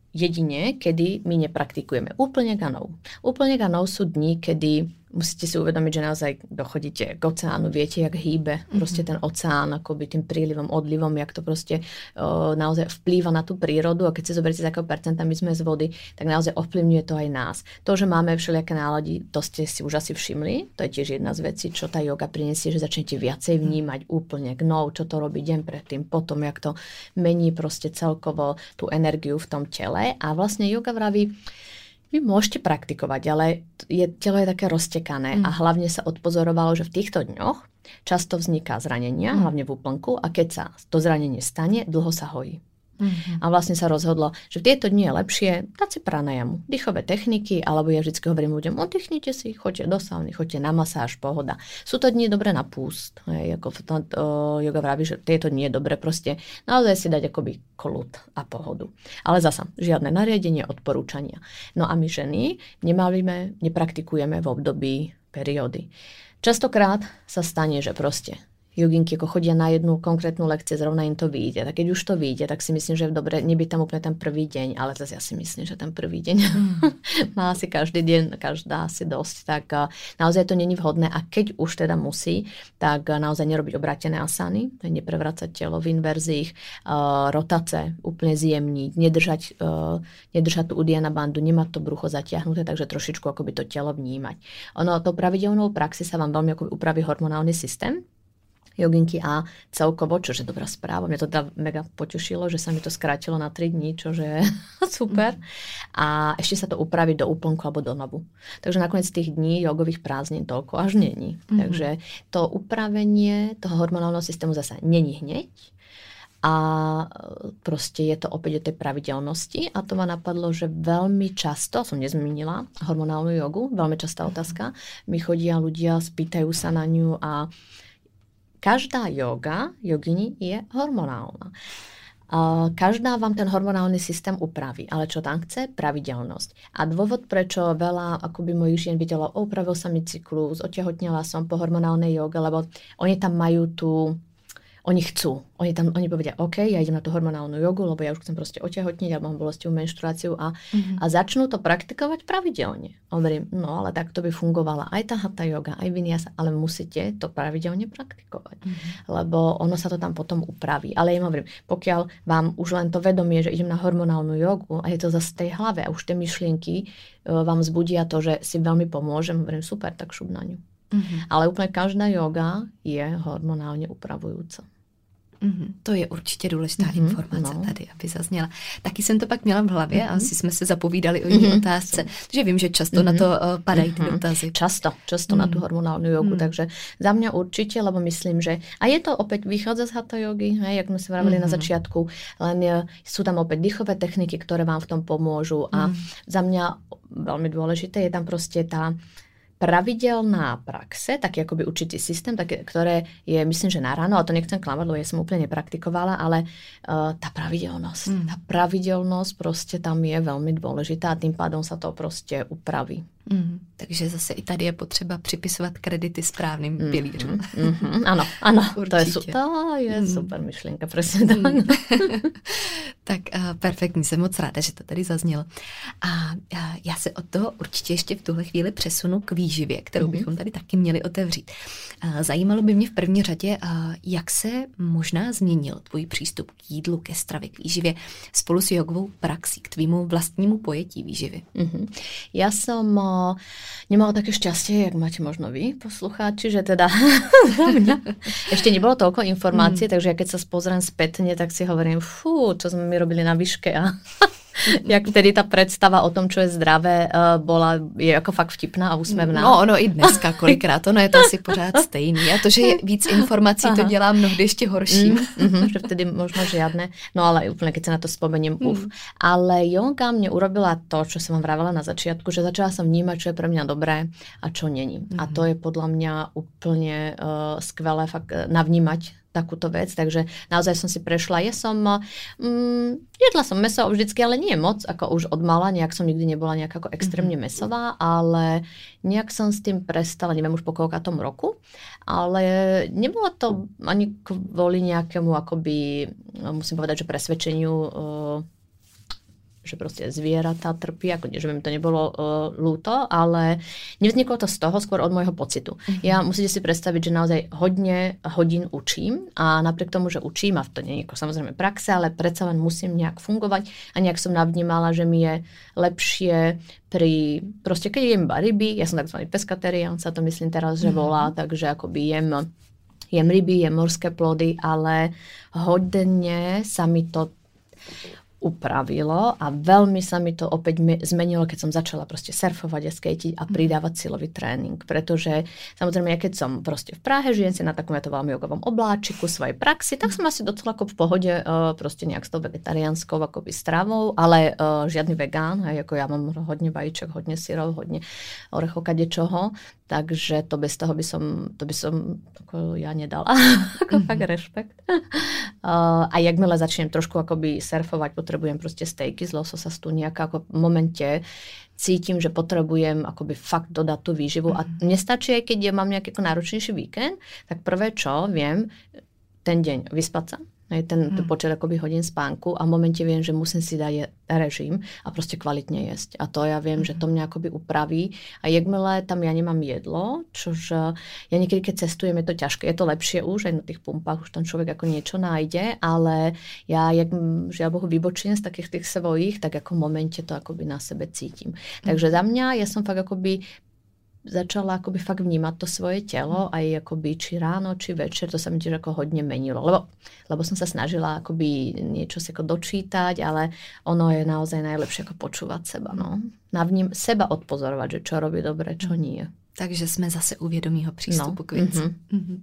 Speaker 2: jedine, kedy my nepraktikujeme. Úplne ganou. Úplne ganou sú dni, kedy musíte si uvedomiť, že naozaj dochodíte k oceánu, viete, jak hýbe proste ten oceán, akoby tým prílivom, odlivom, jak to proste o, naozaj vplýva na tú prírodu a keď si zoberiete z akého percenta my sme z vody, tak naozaj ovplyvňuje to aj nás. To, že máme všelijaké nálady, to ste si už asi všimli, to je tiež jedna z vecí, čo tá joga prinesie, že začnete viacej vnímať úplne gnou, čo to robí deň predtým, potom, jak to mení proste celkovo tú energiu v tom tele a vlastne joga vraví, vy môžete praktikovať, ale je, telo je také roztekané mm. a hlavne sa odpozorovalo, že v týchto dňoch často vzniká zranenia, mm. hlavne v úplnku a keď sa to zranenie stane, dlho sa hojí. Mm-hmm. A vlastne sa rozhodlo, že v tieto dni je lepšie dať si pranajamu, dýchové techniky, alebo ja vždycky hovorím ľuďom, oddychnite si, choďte do sauny, choďte na masáž, pohoda. Sú to dni dobré na púst, hej, ako to, to, yoga vraví, že tieto dni je dobré proste naozaj si dať akoby kľud a pohodu. Ale zasa, žiadne nariadenie, odporúčania. No a my ženy nemalíme, nepraktikujeme v období periódy. Častokrát sa stane, že proste joginky ako chodia na jednu konkrétnu lekciu, zrovna im to vyjde. Tak keď už to vyjde, tak si myslím, že je dobre nebyť tam úplne ten prvý deň, ale zase ja si myslím, že ten prvý deň mm. má asi každý deň, každá asi dosť, tak naozaj to není vhodné a keď už teda musí, tak naozaj nerobiť obrátené asany, neprevracať telo v inverzích, uh, rotace úplne zjemniť, nedržať, uh, nedržať tú udiana bandu, nemať to brucho zatiahnuté, takže trošičku akoby to telo vnímať. Ono to pravidelnou praxi sa vám veľmi akoby upraví hormonálny systém, joginky a celkovo, čože dobrá správa. Mňa to teda mega potešilo, že sa mi to skrátilo na tri dní, čože je super. A ešte sa to upraví do úplnku alebo do novu. Takže nakoniec tých dní jogových prázdnin toľko až není. Mm-hmm. Takže to upravenie toho hormonálneho systému zasa není hneď. A proste je to opäť o tej pravidelnosti a to ma napadlo, že veľmi často, som nezmínila hormonálnu jogu, veľmi častá otázka, mi chodia ľudia, spýtajú sa na ňu a každá joga, jogini je hormonálna. Každá vám ten hormonálny systém upraví, ale čo tam chce? Pravidelnosť. A dôvod, prečo veľa akoby mojich žien videlo, upravil sa mi cyklus, otehotnela som po hormonálnej joge, lebo oni tam majú tú, oni chcú. Oni tam, oni povedia, OK, ja idem na tú hormonálnu jogu, lebo ja už chcem proste otehotniť, ja mám bolestivú menštruáciu a, mm-hmm. a začnú to praktikovať pravidelne. Hovorím, no ale tak to by fungovala aj tá hatha yoga, aj vinyasa, ale musíte to pravidelne praktikovať, mm-hmm. lebo ono sa to tam potom upraví. Ale ja hovorím, pokiaľ vám už len to vedomie, že idem na hormonálnu jogu a je to zase v tej hlave a už tie myšlienky uh, vám zbudia to, že si veľmi pomôžem, hovorím, super, tak šup na ňu. Mm-hmm. Ale úplne každá joga je hormonálne upravujúca.
Speaker 1: Mm-hmm. To je určitě důležitá mm-hmm, informace no. tady, aby zazněla. Taky jsem to pak měla v hlavě mm-hmm. a asi jsme se zapovídali o jiné mm-hmm. otázce, že vím, že často mm-hmm. na to uh, padají ty dotazy.
Speaker 2: Často, často mm-hmm. na tú hormonálnu jogu, mm-hmm. takže za mňa určite, lebo myslím, že a je to opäť vychádza z hatha jogy, hej, jak sme si vravili mm-hmm. na začiatku, len je, sú tam opäť dýchové techniky, ktoré vám v tom pomôžu a mm-hmm. za mňa veľmi dôležité je tam proste tá pravidelná praxe, taký akoby určitý systém, také, ktoré je, myslím, že na ráno, ale to nechcem klamať, lebo ja som úplne nepraktikovala, ale uh, tá pravidelnosť, mm. tá pravidelnosť proste tam je veľmi dôležitá a tým pádom sa to proste upraví.
Speaker 1: Mm, takže zase i tady je potřeba připisovat kredity správným mm, pilířům.
Speaker 2: Mm, mm, ano, ano, to je, su- to je mm. super myšlenka, presne tak. Mm.
Speaker 1: Tak uh, perfektní, jsem moc ráda, že to tady zaznělo. A uh, já se od toho určitě ještě v tuhle chvíli přesunu k výživě, kterou mm. bychom tady taky měli otevřít. Uh, zajímalo by mě v první řadě, uh, jak se možná změnil tvůj přístup k jídlu, ke stravě, k výživě spolu s jogovou praxí, k tvýmu vlastnímu pojetí výživy. Mm-hmm.
Speaker 2: Ja som uh, nemala také šťastie, jak máte možno vy, poslucháči, že teda ešte nebolo toľko informácií, mm. takže ja keď sa spozriem spätne, tak si hovorím, fú, čo sme my robili na výške a jak vtedy ta představa o tom, čo je zdravé, bola, je jako fakt vtipná a úsměvná.
Speaker 1: No ono i dneska kolikrát, ono je to asi pořád stejný. A to, že je víc informací, Aha. to dělá mnohdy ještě horší.
Speaker 2: Mm-hmm, že vtedy možno žiadne, no ale úplne, keď sa na to spomeniem, mm. uf. Ale yoga mne urobila to, čo som vám vravela na začiatku, že začala som vnímať, čo je pre mňa dobré a čo není. Mm-hmm. A to je podľa mňa úplne uh, skvelé fakt navnímať takúto vec, takže naozaj som si prešla. Ja som, mm, jedla som mäso vždycky, ale nie moc, ako už od mala, nejak som nikdy nebola nejak ako extrémne mäsová, ale nejak som s tým prestala, neviem už po koľkatom roku, ale nebolo to ani kvôli nejakému akoby, musím povedať, že presvedčeniu, že proste zvieratá trpí, ako že by mi to nebolo uh, ľúto, ale nevzniklo to z toho, skôr od môjho pocitu. Mm-hmm. Ja musíte si predstaviť, že naozaj hodne hodín učím a napriek tomu, že učím, a to nie je samozrejme praxe, ale predsa len musím nejak fungovať a nejak som navnímala, že mi je lepšie pri, proste keď jem iba ryby, ja som takzvaný pescatarián, sa to myslím teraz, že volá, mm-hmm. takže akoby jem jem ryby, jem morské plody, ale hodne sa mi to upravilo a veľmi sa mi to opäť zmenilo, keď som začala proste surfovať a skejtiť a pridávať silový tréning. Pretože samozrejme, ja keď som proste v Prahe, žijem si na takom veľmi jogovom obláčiku svojej praxi, tak som asi docela ako v pohode uh, proste nejak s tou vegetariánskou akoby stravou, ale uh, žiadny vegán, hej, ako ja mám hodne vajíček, hodne syrov, hodne orechov, kadečoho, takže to bez toho by som, to by som ako ja nedala. ako mm-hmm. fakt rešpekt. uh, a jakmile začnem trošku akoby surfovať, potrebujem proste stejky z lososa, stuniaka, ako v momente cítim, že potrebujem akoby fakt dodať tú výživu. Mm-hmm. A nestačí, aj keď ja mám nejaký náročnejší víkend, tak prvé čo viem, ten deň vyspať sa, aj ten hmm. počet akoby hodín spánku a v momente viem, že musím si dať režim a proste kvalitne jesť. A to ja viem, hmm. že to mňa akoby upraví. A jakmile tam ja nemám jedlo, čož ja niekedy, keď cestujem, je to ťažké. Je to lepšie už, aj na tých pumpách už tam človek ako niečo nájde, ale ja, jak žiaľ Bohu, vybočím z takých tých svojich, tak ako v momente to akoby na sebe cítim. Hmm. Takže za mňa, ja som fakt akoby začala akoby fakt vnímať to svoje telo, aj akoby či ráno, či večer, to sa mi tiež ako hodne menilo, lebo, lebo som sa snažila akoby niečo si ako dočítať, ale ono je naozaj najlepšie ako počúvať seba, no. Navním seba odpozorovať, že čo robí dobre, čo nie.
Speaker 1: Takže jsme zase u vědomího přístupu no. k věci. Mm-hmm. Mm-hmm.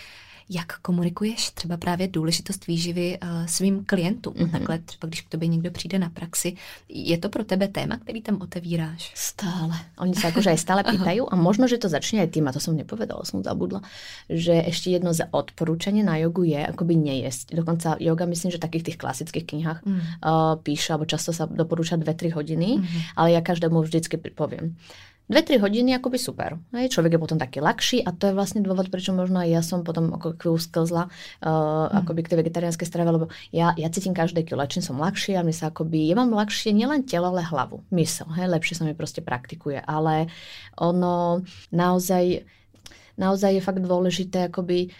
Speaker 1: Jak komunikuješ třeba právě důležitost výživy uh, svým klientům? Mm-hmm. Takhle třeba, když k tobě někdo přijde na praxi, je to pro tebe téma, který tam otevíráš?
Speaker 2: Stále. Oni sa akože aj stále pýtajú a možno, že to začne aj tým, a to som nepovedala, som zabudla, že ešte jedno z odporúčanie na jogu je akoby nejesť. Dokonca joga, myslím, že v takých tých klasických knihách mm. uh, píše, alebo často sa doporúča dve tri hodiny, mm-hmm. ale ja každému vždycky poviem. Dve, tri hodiny akoby super. Hej, človek je potom taký ľahší a to je vlastne dôvod, prečo možno aj ja som potom ako chvíľu sklzla uh, mm. akoby k tej vegetariánskej strave, lebo ja, ja cítim každé kilo, čím som ľahší a mi sa akoby, ja mám ľahšie nielen telo, ale hlavu, mysel. Hej, lepšie sa mi proste praktikuje, ale ono naozaj, naozaj je fakt dôležité akoby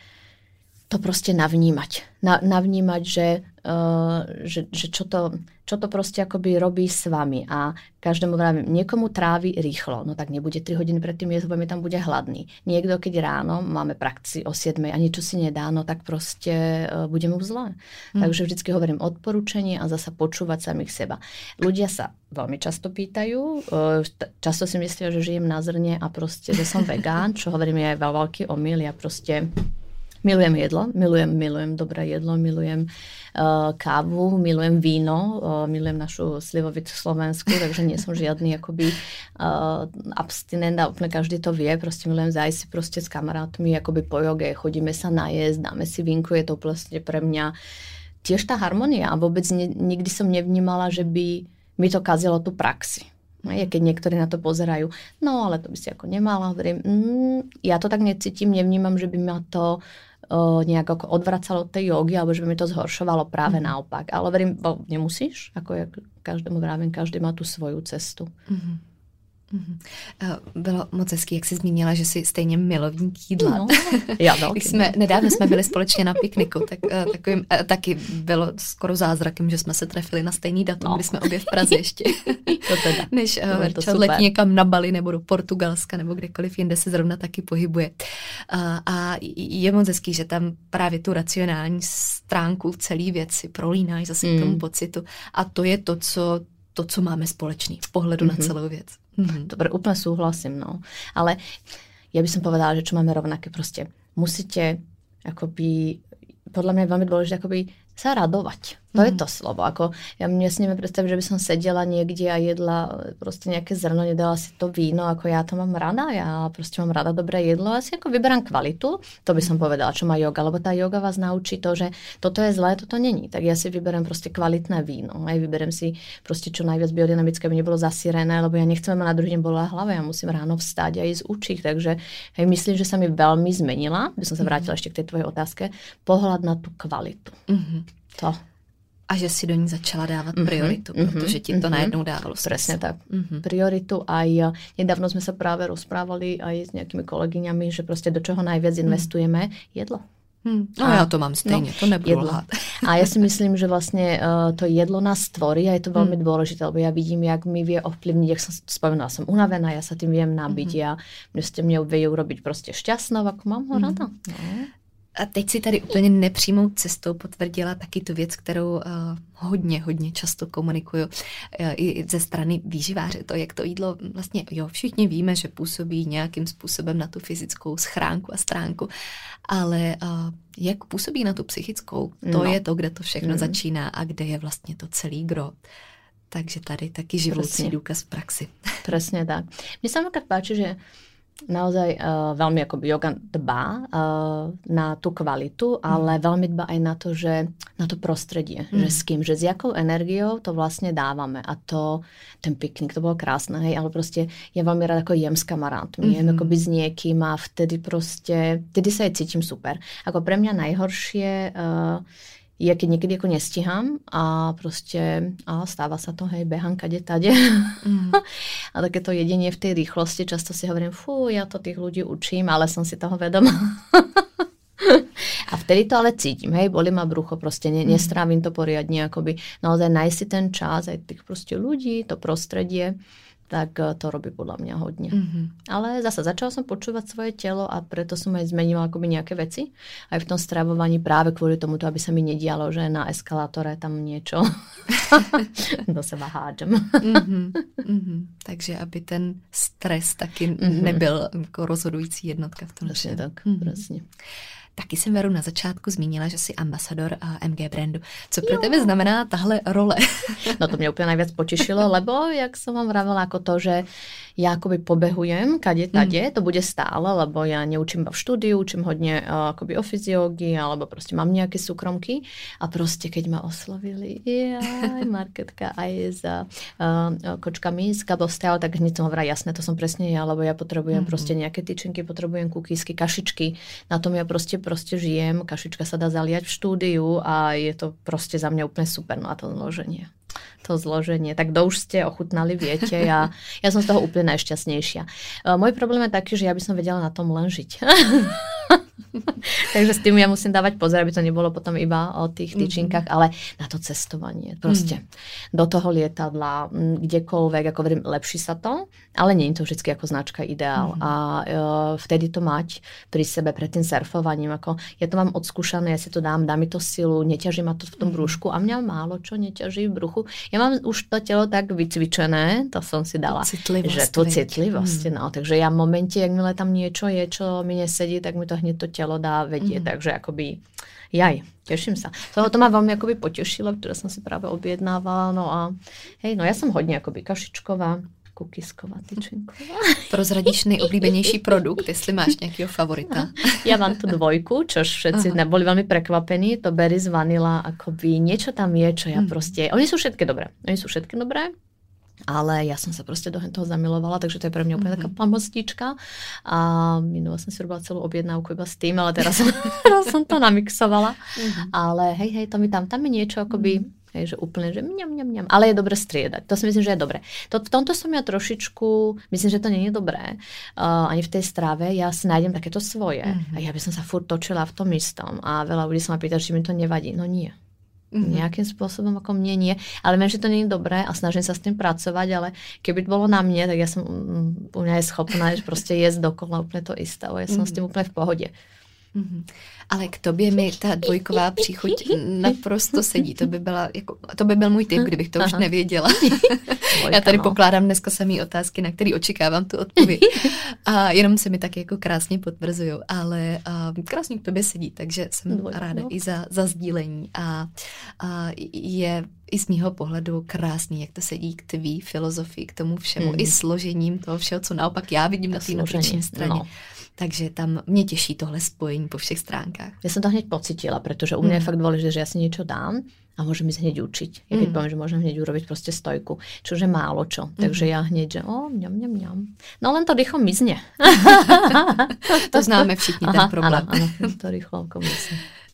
Speaker 2: to proste navnímať. Na, navnímať, že, uh, že, že čo, to, čo to proste akoby robí s vami. A každému vravím, niekomu trávi rýchlo, no tak nebude tri hodiny predtým jesť, lebo mi tam bude hladný. Niekto, keď ráno máme praxi o siedmej a niečo si nedá, no tak proste uh, bude mu zle. Hmm. Takže vždycky hovorím odporúčanie a zasa počúvať samých seba. Ľudia sa veľmi často pýtajú, uh, často si myslia, že žijem na zrne a proste, že som vegán, čo hovorím je aj veľký omyl. Ja proste milujem jedlo, milujem, milujem dobré jedlo, milujem uh, kávu, milujem víno, uh, milujem našu slivovicu Slovensku, takže nie som žiadny akoby uh, abstinent a úplne každý to vie, proste milujem zájsť si proste s kamarátmi, akoby po joge, chodíme sa najesť, dáme si vínku, je to vlastne pre mňa tiež tá harmonia a vôbec ne, nikdy som nevnímala, že by mi to kazilo tú praxi. Je, keď niektorí na to pozerajú, no ale to by si ako nemala, hovorím, mm, ja to tak necítim, nevnímam, že by ma to uh, nejak ako odvracalo od tej jogy, alebo že by mi to zhoršovalo, práve mm. naopak. Ale hovorím, nemusíš, ako ja každému vravím, každý má tu svoju cestu. Mm.
Speaker 1: Mm-hmm. Bylo moc hezký, jak jsi zmínila, že jsi stejně milovník jídla.
Speaker 2: No, já
Speaker 1: jsme, nedávno jsme byli společně na pikniku, tak takovým, taky bylo skoro zázrakem, že jsme se trefili na stejný datum, no. Kdy jsme obě v Praze ještě.
Speaker 2: To teda.
Speaker 1: Než Verča letí někam na Bali nebo do Portugalska nebo kdekoliv jinde se zrovna taky pohybuje. A, a je moc hezký, že tam právě tu racionální stránku celý věci prolínáš zase mm. k tomu pocitu. A to je to, co, to, co máme společný v pohledu mm-hmm. na celou věc.
Speaker 2: Mm-hmm. Dobre, úplne súhlasím, no. Ale ja by som povedala, že čo máme rovnaké, proste musíte akoby, podľa mňa je veľmi dôležité akoby sa radovať. To mm. je to slovo. Ako, ja mne si neviem predstaviť, že by som sedela niekde a jedla proste nejaké zrno, nedala si to víno, ako ja to mám rada. Ja proste mám rada dobré jedlo. Ja si ako vyberám kvalitu. To by som povedala, čo má joga. Lebo tá joga vás naučí to, že toto je zlé, toto není. Tak ja si vyberám proste kvalitné víno. Aj vyberám si proste čo najviac biodynamické, aby nebolo zasírené, lebo ja nechcem ma na druhý deň bola hlava. Ja musím ráno vstať a ísť učiť. Takže hej, myslím, že sa mi veľmi zmenila. By som sa vrátila ešte k tej tvojej otázke. Pohľad na tú kvalitu. Mm-hmm. To.
Speaker 1: A že si do ní začala dávat prioritu, mm-hmm, protože ti to mm-hmm. najednou dávalo smysl.
Speaker 2: Presne tak. Mm-hmm. Prioritu aj, nedávno sme sa práve rozprávali aj s nejakými kolegyňami, že proste do čoho najviac investujeme, jedlo.
Speaker 1: Hmm. No a, ja to mám stejne, no, to nebudu lhát.
Speaker 2: A ja si myslím, že vlastne uh, to jedlo nás tvorí a je to veľmi hmm. dôležité, lebo ja vidím, jak mi vie ovplyvniť, jak som spomenula, som unavená, ja sa tým viem nabiť, hmm. ja mne ste mne vie urobiť proste šťastnou, ako mám ho rada. Hmm. No.
Speaker 1: A teď si tady úplně nepřímou cestou potvrdila taky tu věc, kterou uh, hodně, hodně často komunikuju uh, i ze strany výživáře. To, jak to jídlo vlastně, jo, všichni víme, že působí nějakým způsobem na tu fyzickou schránku a stránku, ale uh, jak působí na tu psychickou, to no. je to, kde to všechno mm. začíná a kde je vlastně to celý gro. Takže tady taky živoucí Presne. důkaz v praxi.
Speaker 2: Presne tak. Mne sa napríklad páči, že naozaj uh, veľmi akoby yoga dbá uh, na tú kvalitu, ale mm. veľmi dbá aj na to, že na to prostredie, mm. že s kým, že s jakou energiou to vlastne dávame. A to, ten piknik, to bolo krásne, hej, ale proste ja veľmi rada ako jem s kamarátmi, mm-hmm. jem akoby s niekým a vtedy proste, vtedy sa aj cítim super. Ako pre mňa najhoršie uh, je, keď niekedy ako nestíham a proste a stáva sa to, hej, behám kade tade. Mm. A takéto jedenie v tej rýchlosti, často si hovorím, fú, ja to tých ľudí učím, ale som si toho vedomá. A vtedy to ale cítim, hej, bolí ma brucho, proste ne, nestrávim to poriadne, akoby naozaj nájsť si ten čas, aj tých proste ľudí, to prostredie, tak to robí podľa mňa hodne. Mm-hmm. Ale zase začala som počúvať svoje telo a preto som aj zmenila akoby nejaké veci. Aj v tom stravovaní práve kvôli tomuto, aby sa mi nedialo, že na eskalátore tam niečo do seba hádžem.
Speaker 1: Mm-hmm. Mm-hmm. Takže aby ten stres taky mm-hmm. nebyl jako rozhodující jednotka v tom.
Speaker 2: Presne tak, mm-hmm. presne.
Speaker 1: Taky jsem, Veru, na začátku zmínila, že jsi ambasador M G brandu. Co pro jo. tebe znamená tahle role?
Speaker 2: No to mě úplně najviac potešilo, lebo jak som vám vravela, ako to, že ja akoby pobehujem kade tade, mm. to bude stále, lebo ja neučím v štúdiu, učím hodne uh, akoby o fyziológii, alebo proste mám nejaké súkromky a proste keď ma oslovili, jaj, Marketka aj za uh, kočkami z Gabostel, tak hneď som hovorila, jasné, to som presne ja, lebo ja potrebujem mm. proste nejaké tyčinky, potrebujem kukísky, kašičky, na tom ja proste proste žijem, kašička sa dá zaliať v štúdiu a je to proste za mňa úplne super, no a to zloženie. To zloženie. Tak kdo už ste ochutnali, viete. Ja, ja som z toho úplne najšťastnejšia. Môj problém je taký, že ja by som vedela na tom len žiť. Takže s tým ja musím dávať pozor, aby to nebolo potom iba o tých tyčinkách, mm-hmm. ale na to cestovanie. Proste mm-hmm. do toho lietadla, kdekoľvek, ako verím, lepší sa to, ale nie je to vždy ako značka ideál. Mm-hmm. A uh, vtedy to mať pri sebe, pred tým surfovaním. Ako, ja to mám odskúšané, ja si to dám, dá mi to silu, neťaží ma to v tom brúšku a mňa málo čo neťaží v bruchu. Ja mám už to telo tak vycvičené, to som si dala,
Speaker 1: citlivosť,
Speaker 2: že tu citlivosť. Mm. No, takže ja v momente, jak milé tam niečo je, čo mi nesedí, tak mi to hneď to telo dá vedieť. Mm. Takže akoby, jaj, teším sa. To, to ma veľmi akoby potešilo, ktoré som si práve objednávala. No a hej, no ja som hodne akoby kašičková, kukisková, tyčinková.
Speaker 1: Prozradíš nejoblíbenější produkt, jestli máš nějakého favorita?
Speaker 2: Ja mám tu dvojku, čož všetci Aha. boli veľmi prekvapení. To berry z vanila, akoby niečo tam je, čo ja hmm. proste... Oni sú všetky dobré. Oni sú všetky dobré. Ale ja som sa proste do toho zamilovala, takže to je pre mňa úplne mm-hmm. taká pamostička. A minula som si robila celú objednávku iba s tým, ale teraz som, teraz som to namixovala. Mm-hmm. Ale hej, hej, to mi tam, tam je niečo akoby... Mm-hmm. Hej, že úplne, že mňam, mňam, mňam. Ale je dobre striedať. To si myslím, že je dobre. To, v tomto som ja trošičku, myslím, že to nie je dobré. Uh, ani v tej strave. Ja si nájdem takéto svoje. Mm-hmm. A ja by som sa furt točila v tom istom. A veľa ľudí sa ma pýta, či mi to nevadí. No nie. Mm-hmm. Nejakým spôsobom ako mne nie. Ale viem, že to nie je dobré a snažím sa s tým pracovať, ale keby to bolo na mne, tak ja som um, u mňa je schopná že proste jesť dokola úplne to isté. Ja som mm-hmm. s tým úplne v pohode.
Speaker 1: Mm-hmm. Ale k tobě mi ta dvojková příchuť naprosto sedí. To by, byla, jako, to by byl můj tip, kdybych to Aha. už nevěděla. Dvojka, já tady no. pokládám dneska samý otázky, na které očekávám tu odpověď. A jenom se mi tak jako krásně potvrzují. Ale uh, krásně k tobě sedí, takže jsem Dvojka, ráda no. i za, za sdílení. A, a je i z mýho pohledu krásný, jak to sedí k tvý filozofii, k tomu všemu, mm. i složením toho všeho, co naopak já vidím na té nutriční straně. No. Takže tam mě těší tohle spojení po všech stránkách.
Speaker 2: Ja som to hneď pocítila, pretože u mňa mm. je fakt dôležité, že ja si niečo dám a môžem ísť hneď učiť. Ja keď mm. poviem, že môžem hneď urobiť proste stojku, čože málo čo. Mm. Takže ja hneď, že o, mňam, mňam, mňam. No len to rýchlo mizne.
Speaker 1: To známe všichni, ten problém.
Speaker 2: Áno, áno, to rýchlo mizne.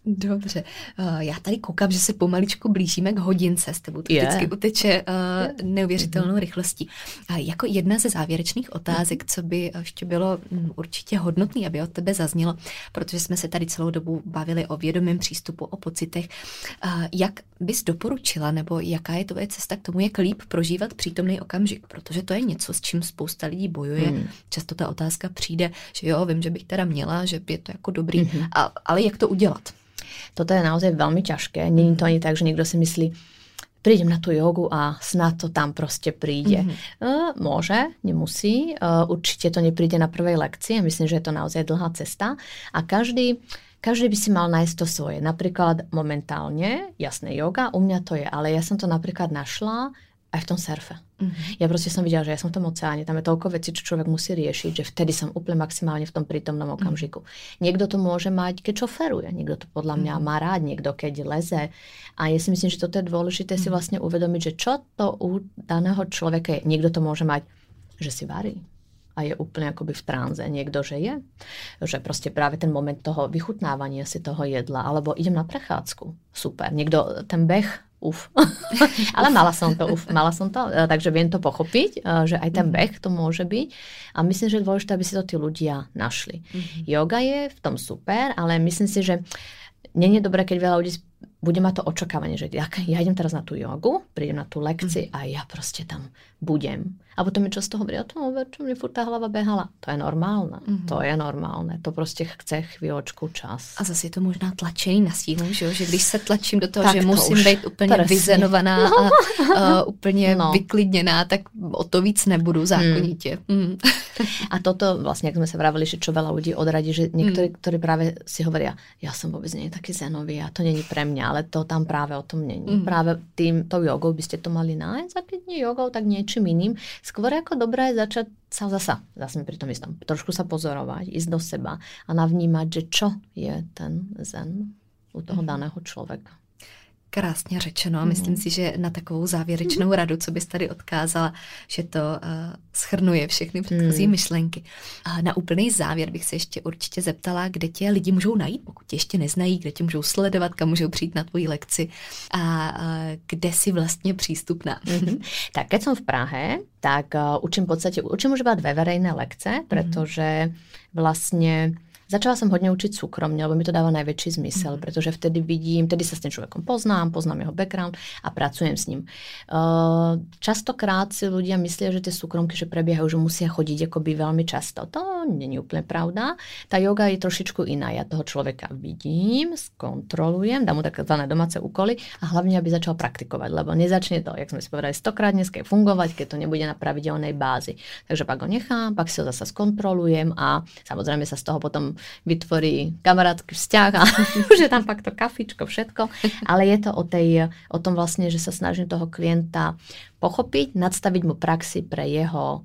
Speaker 1: Dobře. Já tady koukám, že se pomaličku blížíme k hodince. S tebou to yeah. vždycky uteče uh, neuvěřitelnou mm-hmm. rychlostí. A jako jedna ze závěrečných otázek, co by ještě bylo um, určitě hodnotný, aby od tebe zaznělo, protože jsme se tady celou dobu bavili o vědomém přístupu, o pocitech. Uh, jak bys doporučila, nebo jaká je tvoje cesta k tomu, jak líp prožívat přítomný okamžik? Protože to je něco, s čím spousta lidí bojuje. Mm. Často ta otázka přijde, že jo, vím, že bych teda měla, že je to jako dobrý, mm-hmm. a, ale jak to udělat?
Speaker 2: Toto je naozaj veľmi ťažké. Není to ani tak, že niekto si myslí, prídem na tú jogu a snad to tam proste príde. Mm-hmm. Uh, môže, nemusí. Uh, určite to nepríde na prvej lekcii. Myslím, že je to naozaj dlhá cesta. A každý, každý by si mal nájsť to svoje. Napríklad momentálne, jasné, joga, u mňa to je, ale ja som to napríklad našla aj v tom surfe. Mm-hmm. Ja proste som videla, že ja som v tom oceáne, tam je toľko vecí, čo človek musí riešiť, že vtedy som úplne maximálne v tom prítomnom okamžiku. Mm-hmm. Niekto to môže mať, keď šoferuje, niekto to podľa mňa mm-hmm. má rád, niekto keď leze. A ja si myslím, že toto je dôležité mm-hmm. si vlastne uvedomiť, že čo to u daného človeka je. Niekto to môže mať, že si varí a je úplne akoby v tránze. Niekto, že je, že proste práve ten moment toho vychutnávania si toho jedla, alebo idem na prechádzku. Super. Niekto ten beh, uf. Ale mala som to, uf, mala som to, takže viem to pochopiť, že aj ten beh to môže byť. A myslím, že je dôležité, aby si to tí ľudia našli. Mm-hmm. Yoga je v tom super, ale myslím si, že nie je dobré, keď veľa ľudí bude mať to očakávanie, že ja, ja idem teraz na tú jogu, prídem na tú lekciu mm. a ja proste tam budem. A potom mi často hovorí, o tom, čo mne furt tá hlava behala. To je normálne. Mm-hmm. To je normálne. To prostě chce chvíľočku čas.
Speaker 1: A zase je to možná tlačení na sílu, že, že když se tlačím do toho, tak že to musím být úplně presne. vyzenovaná no. a uh, úplně no. vyklidněná, tak o to víc nebudu zákonitě. Mm. Mm.
Speaker 2: A toto vlastne, ak sme sa vravili, že čo veľa ľudí odradí, že niektorí, mm. ktorí práve si hovoria, ja som vôbec nie taký zenový a to není pre mňa, ale to tam práve o tom není. Mm. Práve tým, tou jogou by ste to mali nájsť a keď nie jogou, tak niečím iným. Skôr ako dobré je začať sa zasa, zase pri tom istom, trošku sa pozorovať, ísť do seba a navnímať, že čo je ten zen u toho mm. daného človeka.
Speaker 1: Krásně řečeno a myslím mm. si, že na takovou závěrečnou radu, co bys tady odkázala, že to uh, shrnuje všechny předchozí mm. myšlenky. A na úplný závěr bych se ještě určitě zeptala, kde tě lidi můžou najít, pokud tě ještě neznají, kde tě můžou sledovat, kam můžou přijít na tvoji lekci a uh, kde si vlastně přístupná.
Speaker 2: Mm-hmm. Tak keď som v Prahe, tak uh, učím v podstate, učím už iba dve verejné lekce, pretože vlastne začala som hodne učiť súkromne, lebo mi to dáva najväčší zmysel, mm. pretože vtedy vidím, vtedy sa s tým človekom poznám, poznám jeho background a pracujem s ním. Uh, častokrát si ľudia myslia, že tie súkromky, že prebiehajú, že musia chodiť akoby veľmi často. To nie je úplne pravda. Tá yoga je trošičku iná. Ja toho človeka vidím, skontrolujem, dám mu takzvané domáce úkoly a hlavne, aby začal praktikovať, lebo nezačne to, jak sme si povedali, stokrát dneska fungovať, keď to nebude na pravidelnej bázi. Takže pak ho nechám, pak si ho zasa skontrolujem a samozrejme sa z toho potom vytvorí kamarátsky vzťah a už je tam fakt to kafičko, všetko. Ale je to o, tej, o tom vlastne, že sa snažím toho klienta pochopiť, nadstaviť mu praxi pre jeho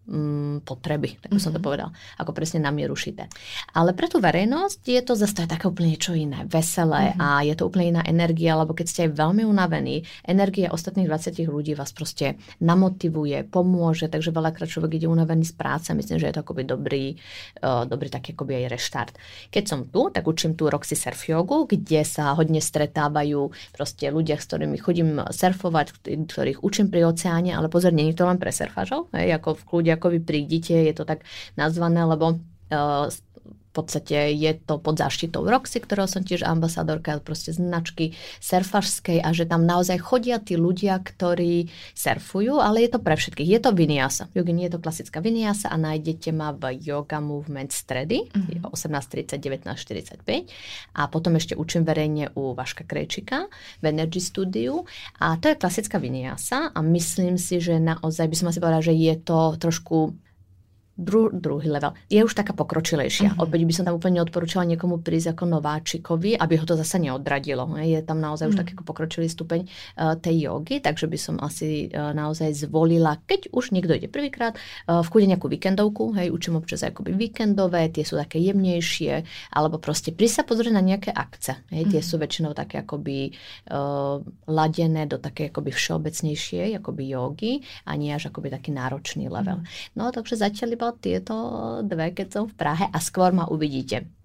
Speaker 2: mm, potreby, tak by som to povedal, ako presne na mieru šité. Ale pre tú verejnosť je to zase to je také úplne niečo iné, veselé mm-hmm. a je to úplne iná energia, lebo keď ste aj veľmi unavení, energia ostatných dvadsať ľudí vás proste namotivuje, pomôže, takže veľakrát človek ide unavený z práce, myslím, že je to akoby dobrý, uh, dobrý taký akoby aj reštart. Keď som tu, tak učím tu Roxy Surf jogu, kde sa hodne stretávajú proste ľudia, s ktorými chodím surfovať, ktorých učím pri oceáne, ale pozor, nie je to len pre surfažov, hej, ako v kľude, ako vy prídite, je to tak nazvané, lebo uh, v podstate je to pod záštitou Roxy, ktorého som tiež ambasadorka, proste značky surfařskej a že tam naozaj chodia tí ľudia, ktorí surfujú, ale je to pre všetkých. Je to vinyasa. Yogini je to klasická vinyasa a nájdete ma v Yoga Movement stredy mm-hmm. osemnásť tridsať, devätnásť štyridsaťpäť a potom ešte učím verejne u Vaška Krejčíka v Energy Studiu a to je klasická vinyasa a myslím si, že naozaj by som asi povedala, že je to trošku Dru, druhý level. Je už taká pokročilejšia. Uh-huh. Opäť by som tam úplne odporúčala niekomu prísť ako nováčikovi, aby ho to zase neodradilo. Je tam naozaj uh-huh. už taký pokročilý stupeň uh, tej jogy, takže by som asi uh, naozaj zvolila, keď už niekto ide prvýkrát, uh, v kúde nejakú víkendovku, hej, učím občas akoby víkendové, tie sú také jemnejšie, alebo proste prísť sa pozrieť na nejaké akce. Hej, tie uh-huh. sú väčšinou také akoby uh, ladené do také akoby všeobecnejšie, akoby jogy a nie až akoby taký náročný level. Uh-huh. No, takže zatiaľ tieto dve, keď som v Prahe a skôr ma uvidíte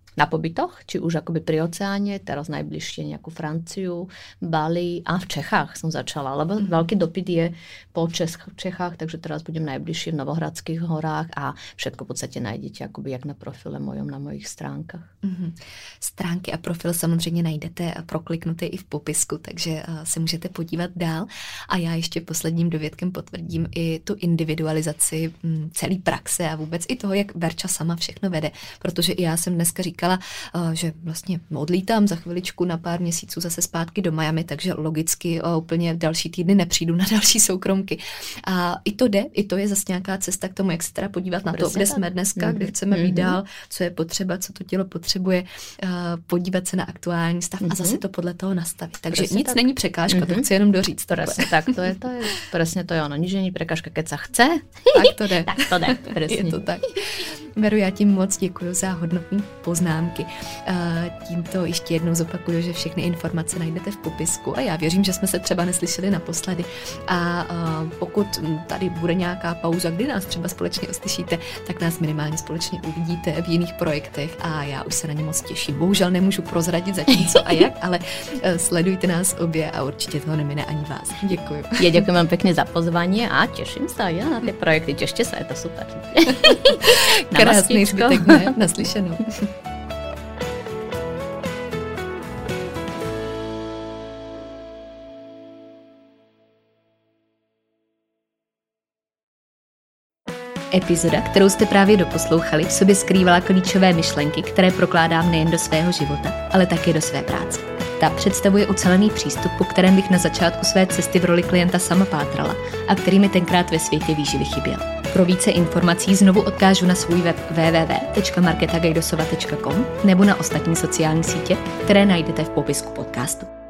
Speaker 2: na pobytoch, či už akoby pri oceáne, teraz najbližšie nejakú Franciu, Bali a v Čechách som začala, lebo mm. veľký dopyt je po Čech- Čechách, takže teraz budem najbližšie v Novohradských horách a všetko v podstate nájdete akoby jak na profile mojom, na mojich stránkach.
Speaker 1: Mm-hmm. Stránky a profil samozřejmě najdete prokliknuté i v popisku, takže se můžete podívat dál. A já ještě posledním dovědkem potvrdím i tu individualizaci celé praxe a vůbec i toho, jak Verča sama všechno vede, protože i já jsem dneska říkala, že vlastně odlítám za chviličku na pár měsíců zase zpátky do Miami, takže logicky úplně další týdny nepřijdu na další soukromky. A i to jde, i to je zase nějaká cesta k tomu, jak se teda podívat na to, kde jsme dneska, mm-hmm. kde chceme být dál, co je potřeba, co to tělo potřebuje, podívat se na aktuální stav mm-hmm. a zase to podle toho nastavit. Takže presne nic tak. Není překážka, mm-hmm. to chci jenom doříct.
Speaker 2: Presne tak, to je, to je, presne to je ono. Nič není překážka, keď sa chce.
Speaker 1: Tak to jde.
Speaker 2: Tak to jde, presne.
Speaker 1: Je to tak. Veru, já tím moc děkuji za hodnotné poznámky. Tímto ještě jednou zopakuju, že všechny informace najdete v popisku a já věřím, že jsme se třeba neslyšeli naposledy. A pokud tady bude nějaká pauza, kdy nás třeba společně uslyšíte, tak nás minimálně společně uvidíte v jiných projektech a já už se na ně moc těším. Bohužel nemůžu prozradit zatím co a jak, ale sledujte nás obě a určitě toho nemine ani vás. Děkuji.
Speaker 2: Ja ďakujem vám pekne za pozvanie a teším sa ja na tie projekty. Tešte sa, je to super.
Speaker 1: Krásný zbytek dne, naslyšenou.
Speaker 3: Epizoda, kterou jste právě doposlouchali, v sobě skrývala klíčové myšlenky, které prokládám nejen do svého života, ale také do své práce. Ta představuje ucelený přístup, po kterém bych na začátku své cesty v roli klienta sama pátrala a který mi tenkrát ve světě výživy chyběl. Pro více informací znovu odkážu na svůj web w w w tečka marketa gajdosova tečka com nebo na ostatní sociální sítě, které najdete v popisku podcastu.